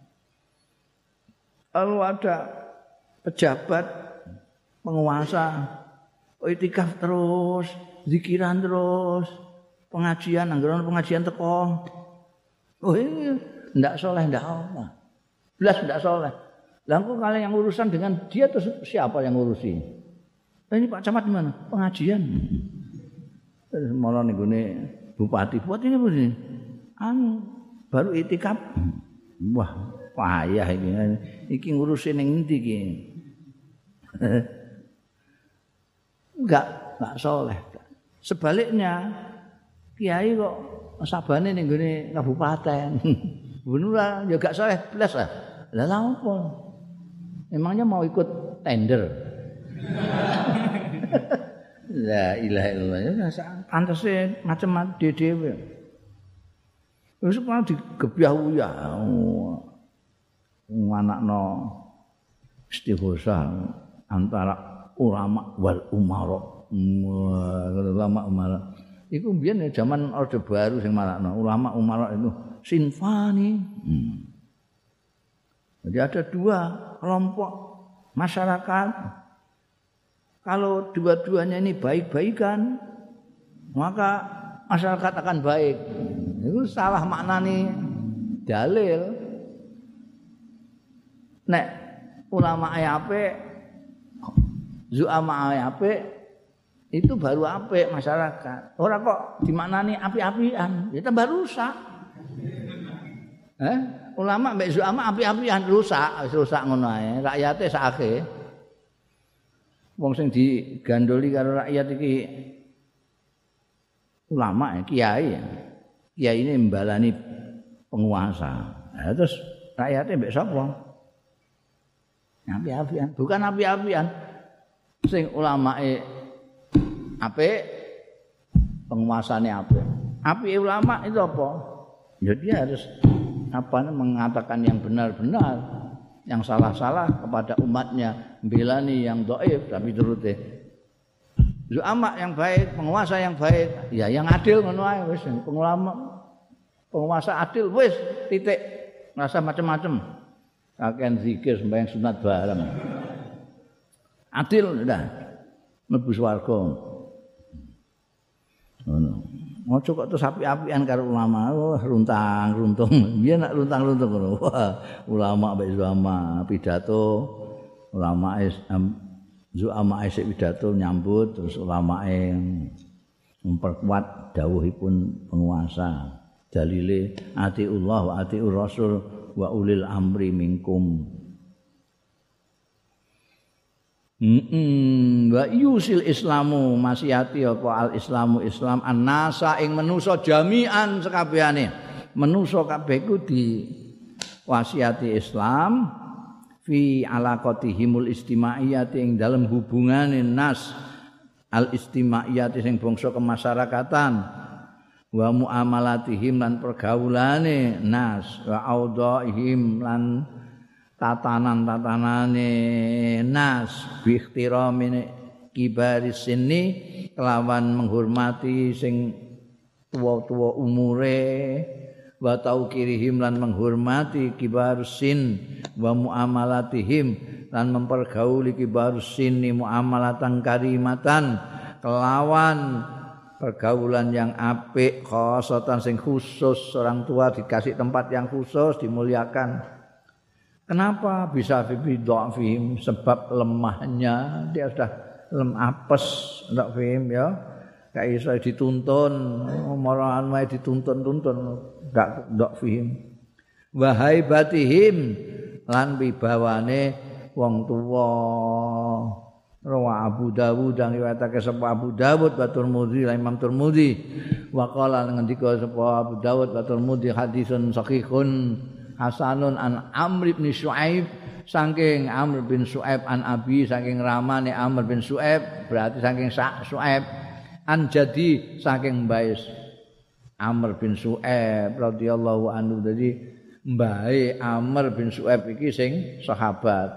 Lalu ada pejabat, penguasa, iktikaf terus, zikiran terus, pengajian, anggaran pengajian teko. Oh ini ndak soleh ndak apa. Belas ndak soleh. Lah kok kalian yang urusan dengan dia terus siapa yang ngurusi? Nah, ini Pak Camat di mana? Pengajian. Terus malah nih gune bupati. Bupati ini begini. Anu baru iktikaf. Wah, payah iki. Iki ngurusin yang ngendi iki. Enggak, enggak soleh. Sebaliknya kiai kok sabane ning gone kabupaten. Bener ya gak soleh belas lah. Lah lha apa? Emangnya mau ikut tender? La ilaha illallah. Ya pantese macam-macam dhewe. Wis kok digebyah uyah. Anakno istighosah antara ulama wal umara. Ulama umara. Iku mbiyen zaman Orde Baru sing marakno ulama umara itu sinfani. Hmm. Jadi ada dua kelompok masyarakat. Kalau dua-duanya ini baik-baikan, maka masyarakat akan baik. Itu salah maknani dalil. Nek ulama apik, zuama apik, itu baru apik masyarakat. Ora kok dimaknani api-apian, ya tambah rusak. Eh, ulama mbek zuama api-apian rusak, wis rusak ngono ae. Rakyate sakake. Wong sing digandoli karo rakyat iki ulama ya, kiai ya. Kiai ini mbalani penguasa. Nah, terus rakyate mbek sapa? Api-apian, bukan api-apian. Sing ulamae apik, penguasane apik. Apike ulama itu apa? Ya dia harus apa mengatakan yang benar-benar, yang salah-salah kepada umatnya, belani yang dhaif tapi turuti. Ulama yang baik, penguasa yang baik, ya yang adil ngono ae wis. Pengulama penguasa adil wis titik. Rasa macam-macam. Kakean zikir sembahyang sunat bareng. Adil udah mlebu swarga. Ngono. Ojo kok terus api-apian karo ulama, oh, runtang-runtung. Biar nak runtang-runtung ngono. Wah, ulama mbek ulama pidato, ulama um, zuama isik pidato nyambut terus ulama memperkuat dawuhipun penguasa. Dalile atiullah wa atiur rasul wa ulil amri minkum. Heeh, wa yusil islamu masihati apa al islamu Islam annasa ing manusa jami'an sekabehane. Manusa kabeh iku di wasiati Islam fi alaqatihimul istimaiyati ing dalem hubungane nas al istimaiyati sing bangsa kemasyarakatan wa muamalatihim lan pergaulane nas wa audaihim lan tatanan-tatanane nas bi ikhtiramine kibaris sini kelawan menghormati sing tuwa-tuwa umure wa taukirihim lan menghormati kibarus sin wa muamalatihim lan mempergauli kibarus sin muamalatan karimatan kelawan pergaulan yang apik, khosatan sing khusus, orang tua dikasih tempat yang khusus, dimuliakan. Kenapa bisa fi dhafihim? Sebab lemahnya, dia sudah lem apes, ndak fihim ya. Gak iso dituntun, marahan wae dituntun-tuntun, gak ndak fihim. Wa haibatihim lan wibawane wong tuwa. Rawa Abu Dawud dan riwayatake sapa Abu Dawud wa Tirmidzi lan Imam Tirmidzi wa qala ngendika sapa Abu Dawud wa Tirmidzi hadisun sahihun hasanun an Amr bin Syuaib saking Amr bin Syuaib an Abi saking ramane Amr bin Syuaib berarti saking Syuaib an jadi saking mbais Amr bin Syuaib radhiyallahu anhu. Dadi mbae Amr bin Syuaib iki sing sahabat.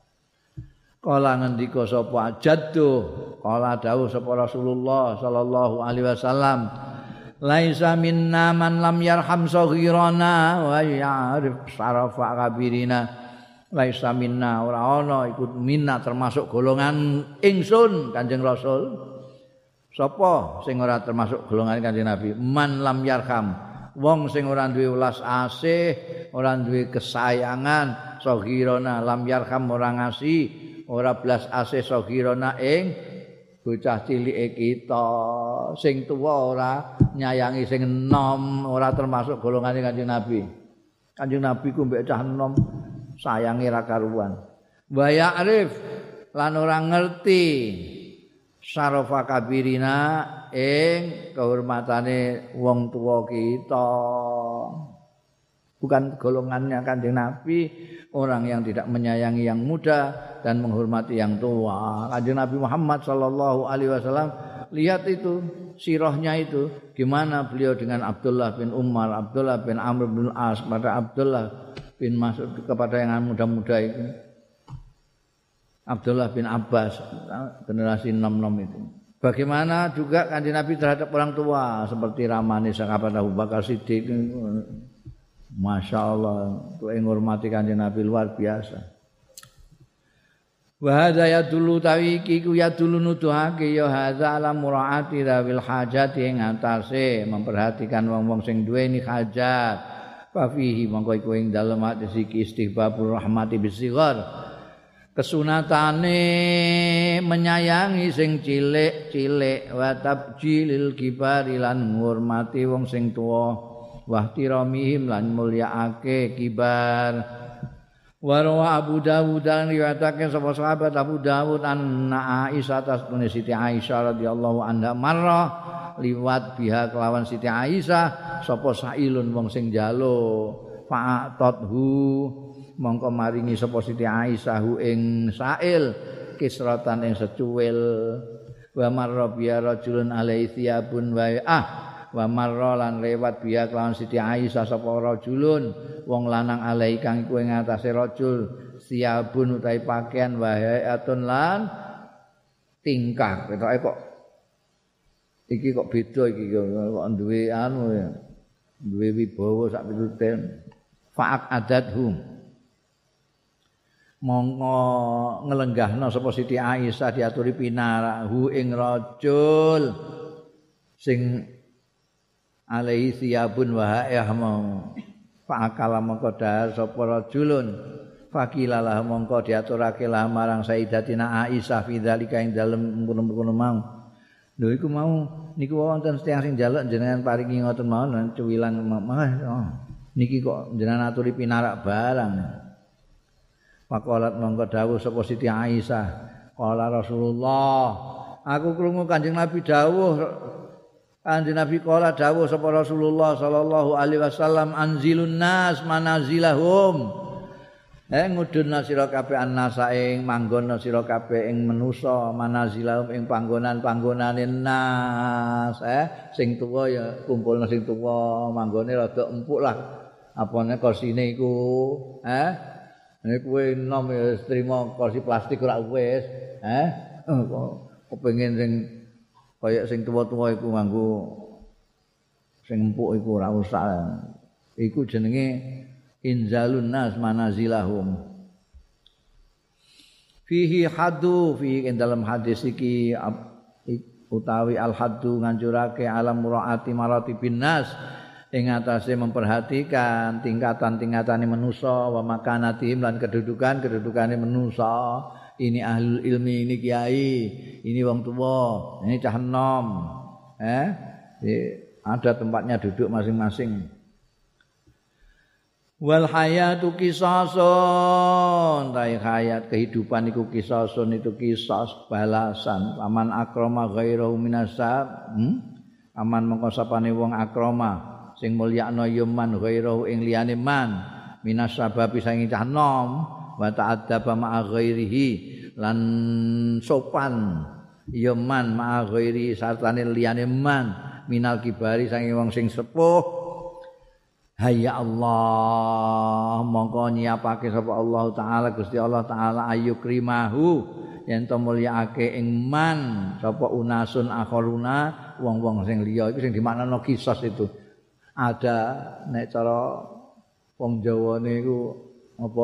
Kala ngendika sapa jaddu kala dawuh sapa Rasulullah sallallahu alaihi wasallam laisa minna man lam yarham saghirana wa ya'rif syarafa kabirina. Laisa minna ora ana ikut minna termasuk golongan ingsun Kanjeng Rasul. Sapa sing ora termasuk golongan Kanjeng Nabi? Man lam yarham, wong sing ora duwe welas asih, ora duwe kesayangan, saghirana lam yarham ora ngasih ora belas asih saghirana ing bocah cilike kita, sing tuwa ora nyayangi sing enom, ora termasuk golongane Kanjeng Nabi. Kanjeng Nabi ku mbek cah enom sayange ra karuan. Wa ya'rif lan ora ngerti syarafa kabirina ing kehormatane wong tuwa kita. Bukan golongannya Kanjeng Nabi, orang yang tidak menyayangi yang muda dan menghormati yang tua. Kanjeng Nabi Muhammad sallallahu alaihi wasallam, lihat itu sirahnya itu gimana beliau dengan Abdullah bin Umar, Abdullah bin Amr bin As, pada Abdullah bin Mas'ud, kepada yang muda-muda itu Abdullah bin Abbas, generasi enam-enam itu. Bagaimana juga Kanjeng Nabi terhadap orang tua seperti ramane sahabat Abu Bakar Siddiq. Masya Allah, untuk menghormati Kanjeng Nabi luar biasa. Wa hadza yadullu tawiki ku yadullu nuduhake ya hadza ala muraati rawil hajat ing atase memperhatikan wong-wong sing duweni hajat. Fa fihi mongko iku ing dalem hadis iki istihbabur rahmati bisighar. Kesunatane menyayangi sing cilik-cilik wa tabjilil kibari lan ngurmati wong sing tuwa. Wahtiramihim lan mulyaake kibar. Warwa Abu Dawud dan riwayatake sapa sahabat Abu Dawud anna Aisyah tasbune Siti Aisyah radhiyallahu anha marra liwat biha kelawan Siti Aisyah sapa sailun wong sing jalo fa'atadhu mongko maringi sapa Siti Aisyah hu ing sail kisratan ing secuil wa marra biha rajulun alaihi thiyabun wa ah wa marra lan lewat biya kelawan Siti Aisyah sapa rajulun wong lanang alai kang iku ing atase rajul siabun utahe pakaian wa hayatun lan tingkah ketoke kok iki kok beda iki kok duwe anu ya duwe wibawa sak pitute fa'ak adathum mongko nglenggahna sapa Siti Aisyah diaturi pinarahu ing rajul sing alaihi siyabun wa ha'ah mau fa'akala mongko dahar sapa rajulun fakilalah mongko diaturake lah marang Sayyidatina Aisyah fi dzalika ing dalem ngono-ngono mau lho iku mau niku wonten tiyang sing njaluk jenengan paringi ngoten mawon cuwilan mah oh, niki kok jenengan aturi pinarak barang faqalat mongko dawuh sapa Siti Aisyah qala Rasulullah aku krungu Kanjeng Nabi dawuh Kanjeng Nabi kala dawuh sapa Rasulullah sallallahu alaihi wasallam anzilun nas manazilahum. Eh ngudunna sira kabeh annasa ing manggonna sira kabeh ing manusa manazilahum ing panggonan-panggonane nas. Eh sing tuwa ya kumpulna sing tuwa, manggone rada empuk lah. Apane kursine iku, eh nek kowe enom ya trimo kursi plastik ora wis, eh kepengin sing kaya sing tuwa-tuwa iku nganggo sing empuk iku ora usah. Iku jenenge inzalun nas manazilahum. Fihi hadu fi dalam hadis iki utawi al haddu ngancurake alam muraati maratibin nas ing atase memperhatikan tingkatan-tingkatane manusa wa makanatihim lan kedudukan-kedudukane manusa. Ini ahlul ilmi, ini kiai, ini wong tua, ini cah enom. Eh, ada tempatnya duduk masing-masing. Wal hayatu qisasun, tai hayat kehidupan iku qisasun itu qisas balasan. Aman akrama ghairu minasab, hmm? Aman mengko sapane wong akrama sing mulyakno ya man ghairu ing liyane man minasabab saking cah nom wa ta'addaba ma'a ghairihi lan sopan ya man ma'a ghairi sartane liyane man minal kibari saking wong sing sepuh. Hayya Allah mongko nyiapake sapa Allah taala Gusti Allah taala ayukrimahu yen to mulyakake ing man sapa unasun akharuna wong-wong sing liya iku sing dimaknano kisos itu. Ada nek cara wong Jawane iku apa?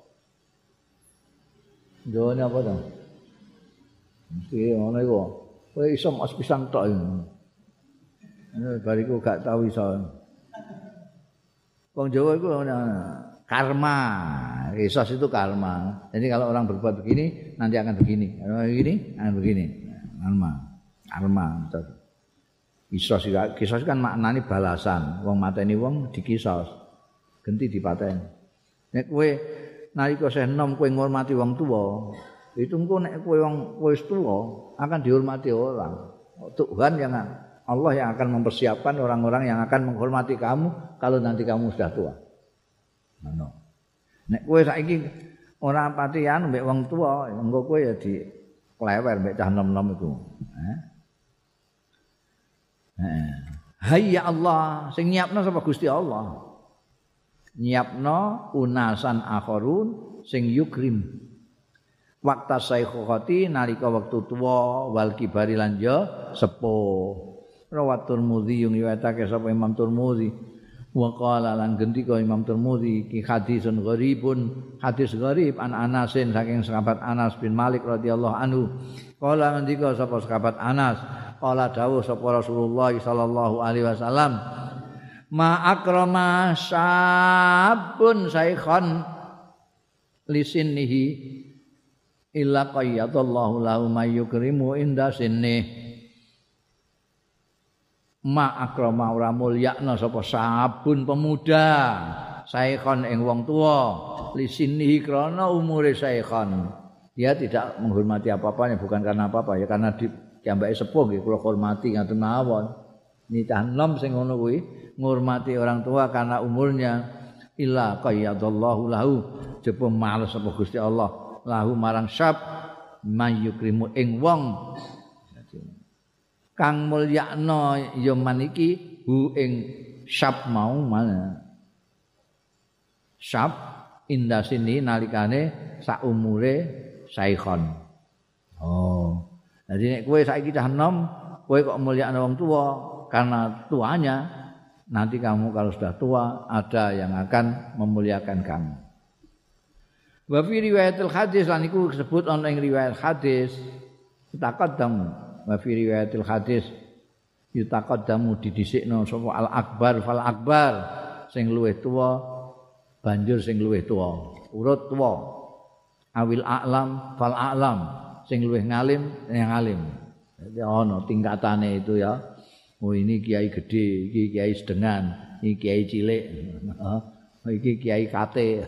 Jawane apa to? Mesti ngono iku. Kowe iso mas pisan tok iki. Bariku gak tau iso. Wong Jawa itu karma, kisos itu karma. Jadi kalau orang berbuat begini, nanti akan begini. Kalau begini, akan begini. Karma, karma. Kisos, kisos kan maknanya balasan. Wong mateni wong dikisos, genti dipateni. Nek kowe nalika isih enom kowe ngurmati wong tuwa, itu engko nek kowe wong wis tuwa akan dihormati orang. Tuhan yang Allah yang akan mempersiapkan orang-orang yang akan menghormati kamu kalau nanti kamu sudah tua. Ngono. Nek kowe saiki ora patian mbek wong tua, engko kowe ya di klewer mbek cah nom-nom iku. Heh. Heh. Hayya Allah, sing nyiapno sapa Gusti Allah. Nyiapno unasan akharun sing yukrim. Waktu saikhati nalika wektu tuwa wal kibari lan ya sepuh. Rawat Tirmidzi yang riwayatake sapa Imam Tirmidzi wa qala lan gendika Imam Tirmidzi ki hadisun gharibun hadis gharib an Anasin saking sahabat Anas bin Malik radhiyallahu anhu qala ngendika sapa sahabat Anas qala dawuh sapa Rasulullah sallallahu alaihi wasallam ma akrama sabun saikhon lisinnihi illa qayyadallahu lahu may yukrimu inda sinnih. Ma akrama ora mulyakna sapa sabun pemuda saikhon ing wong tuwa lisinihi krana umure saikhon. Dia tidak menghormati apa-apanya bukan karena apa-apa ya karena diambake sepuh nggih kula hormati ngaten mawon. Nitah nom sing ngono kuwi ngurmati orang tua karena umurnya illa qayyadallahu lahu jaba males sapa Gusti Allah lahu marang syab mayukrimu ing wong kang mulyakno ya man iki hu ing syab mau mana syab inda sini nalikane sak umure saikhon. Oh jadi nek kowe saiki cah enom kowe kok mulyakno wong tua karena tuanya nanti kamu kalau sudah tua ada yang akan memuliakan kamu. Wa fi riwayatil hadis lan iku disebut ana ing riwayat hadis taqaddam wa fi riwayatil hadis yutaqaddamu didhisikno sapa al akbar fal akbar sing luwih tuwa banjur sing luwih tuwa urut tuwa awil a'lam fal a'lam sing luwih ngalim yang ngalim. Jadi ana tingkatane itu ya. Oh ini kiai gede, iki kiai sedengan, iki kiai cilik. Oh, iki kiai kate.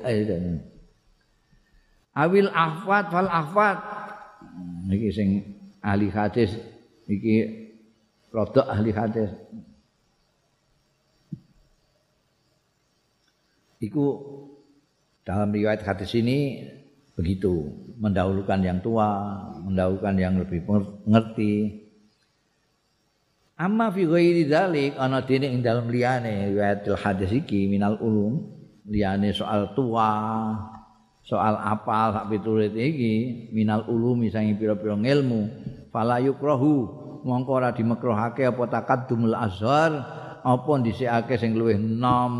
Awil ahfad fal ahfad. Iki sing ahli hadis iki rodok ahli hadis. Iku dalam riwayat hadis ini begitu, mendahulukan yang tua, mendahulukan yang lebih mengerti. Amma fi ghairi dzalik ana dene ing dalem liyane riwayatul hadis iki minal ulum, liyane soal tua, soal apal sak pitulit iki minal ulumi sange pira-pira ilmu fala yukrahu mongko ora dimekruhake apa taqaddumul azhar apa dhisikake sing luwih nom.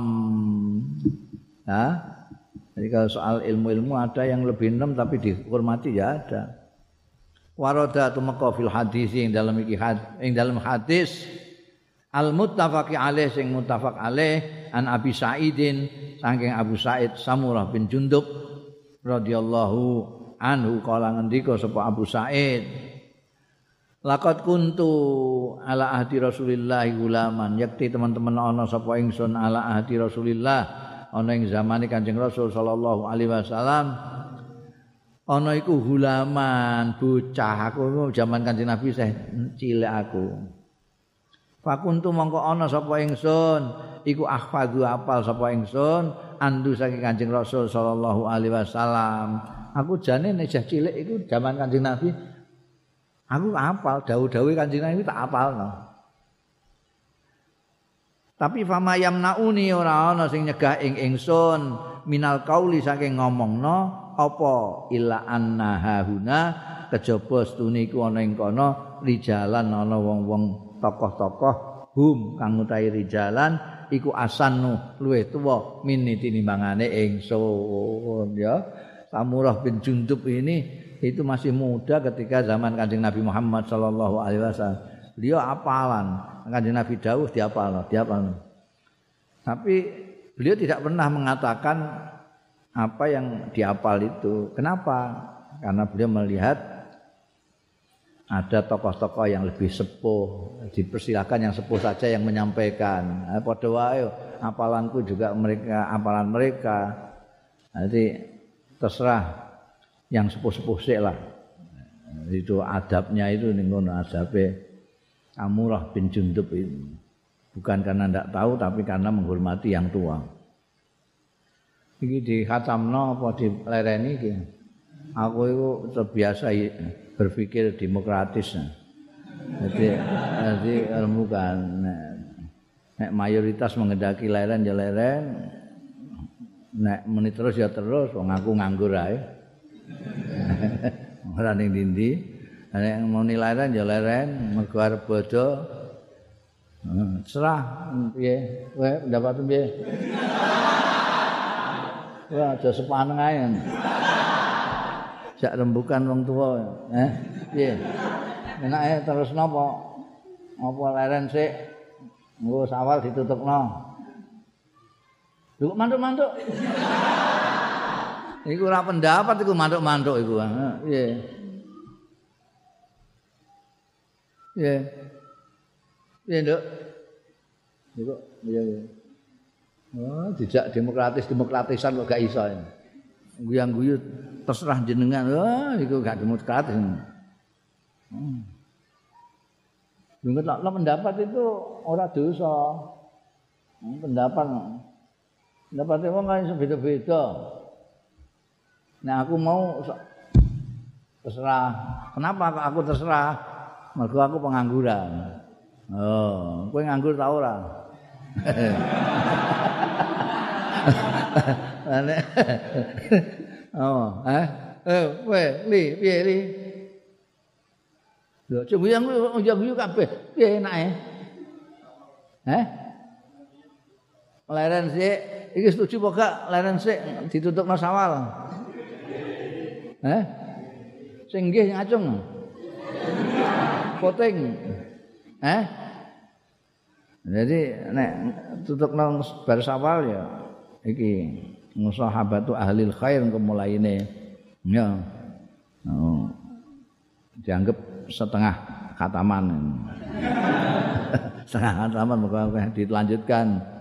Nah, jadi kalau soal ilmu-ilmu ada yang lebih nom tapi dihormati ya ada. Warada tumeka fil hadis ing dalam iki ing dalam hadis al muttafaqi alaih sing muttafaq alaih an Abi Sa'idin saking Abu Sa'id Samurah bin Jundub radhiyallahu anhu kala ngendika sapa Abu Sa'id laqad kuntu ala ahdi Rasulillah gulaman yakti teman-teman ana sapa ingsun ala ahdi Rasulillah ana ing zamane Kanjeng Rasul sallallahu alaihi wasallam ana iku hulaman bocah aku zaman Kanjeng Nabi isih cilik aku. Fakuntu mongko ana sapa ingsun iku ahfadzu apal sapa ingsun andu saking Kanjeng Rasul sallallahu alaihi wasallam. Aku jane nek isih cilik iku zaman Kanjeng Nabi aku apal dawuh-dawuh Kanjeng Nabi tak apalno. Tapi fama yamnauni ora ana sing nyegah ing ingsun minal qauli saking ngomongno apa illa anna hahuna kejaba stune iku ana ing kono rijalan ana wong-wong tokoh-tokoh hum kang utahe rijalan iku asannu luwih tuwa miniti nimbangane ingsun ya. Samurah bin Jundub ini itu masih muda ketika zaman Kanjeng Nabi Muhammad sallallahu alaihi wasallam. Beliau apalan Kanjeng Nabi dawuh diapalno, diapalno. Tapi beliau tidak pernah mengatakan apa yang dihafal itu. Kenapa? Karena beliau melihat ada tokoh-tokoh yang lebih sepuh, dipersilakan yang sepuh saja yang menyampaikan. Nah, padha wae hafalanku juga mereka, hafalan mereka. Nanti terserah yang sepuh-sepuh sik lah. Itu adabnya itu ning ngono adabe Samurah bin Jundub itu. Bukan karena ndak tahu tapi karena menghormati yang tua. Iki di khatamno apa dilereni iki. Aku itu terbiasa berpikir demokratis. Jadi jadi ilmu kan nek mayoritas menghendaki leren ya leren. Nek meni terus ya terus wong aku nganggur ae. Ora ning ndi-ndi. Nek muni leren ya leren, mergo arep bodho. Serah piye? Kowe pendapatmu piye? Wah, aja sepaneng ae. Jak rembukan wong tuwa, eh? Piye? Enake terus napa? Apa leren sik? Engko sawal ditutupno. Lho mantuk-mantuk. Iku ora pendapat iku mantuk-mantuk iku. Piye? Piye? Piye, Nduk? Nduk, iya iya. Oh, dijak demokratis-demokratisan kok gak iso. Guyang-guyu terserah jenengan. Wah, iku gak demokratis. Hmm. Dengar lah pendapat itu ora dosa. Pendapat pendapat wong kan beda-beda. Nah, aku mau terserah. Kenapa aku terserah? Mergo aku pengangguran. Oh, kowe nganggur ta ora? Ane. Oh, eh? Eh, kowe li, piye li? Lho, coba yang guyu kabeh. Piye enake? Heh? Leren sik, iki setuju apa gak leren sik ditutupno sawal? Heh? Sing nggih ngacung. Voting. Eh? Jadi nek tutupno bar sawal ya iki musahabatu ahlil khair kemulaine. Ya. Oh. Dianggap setengah khataman. Setengah khataman moga dilanjutkan.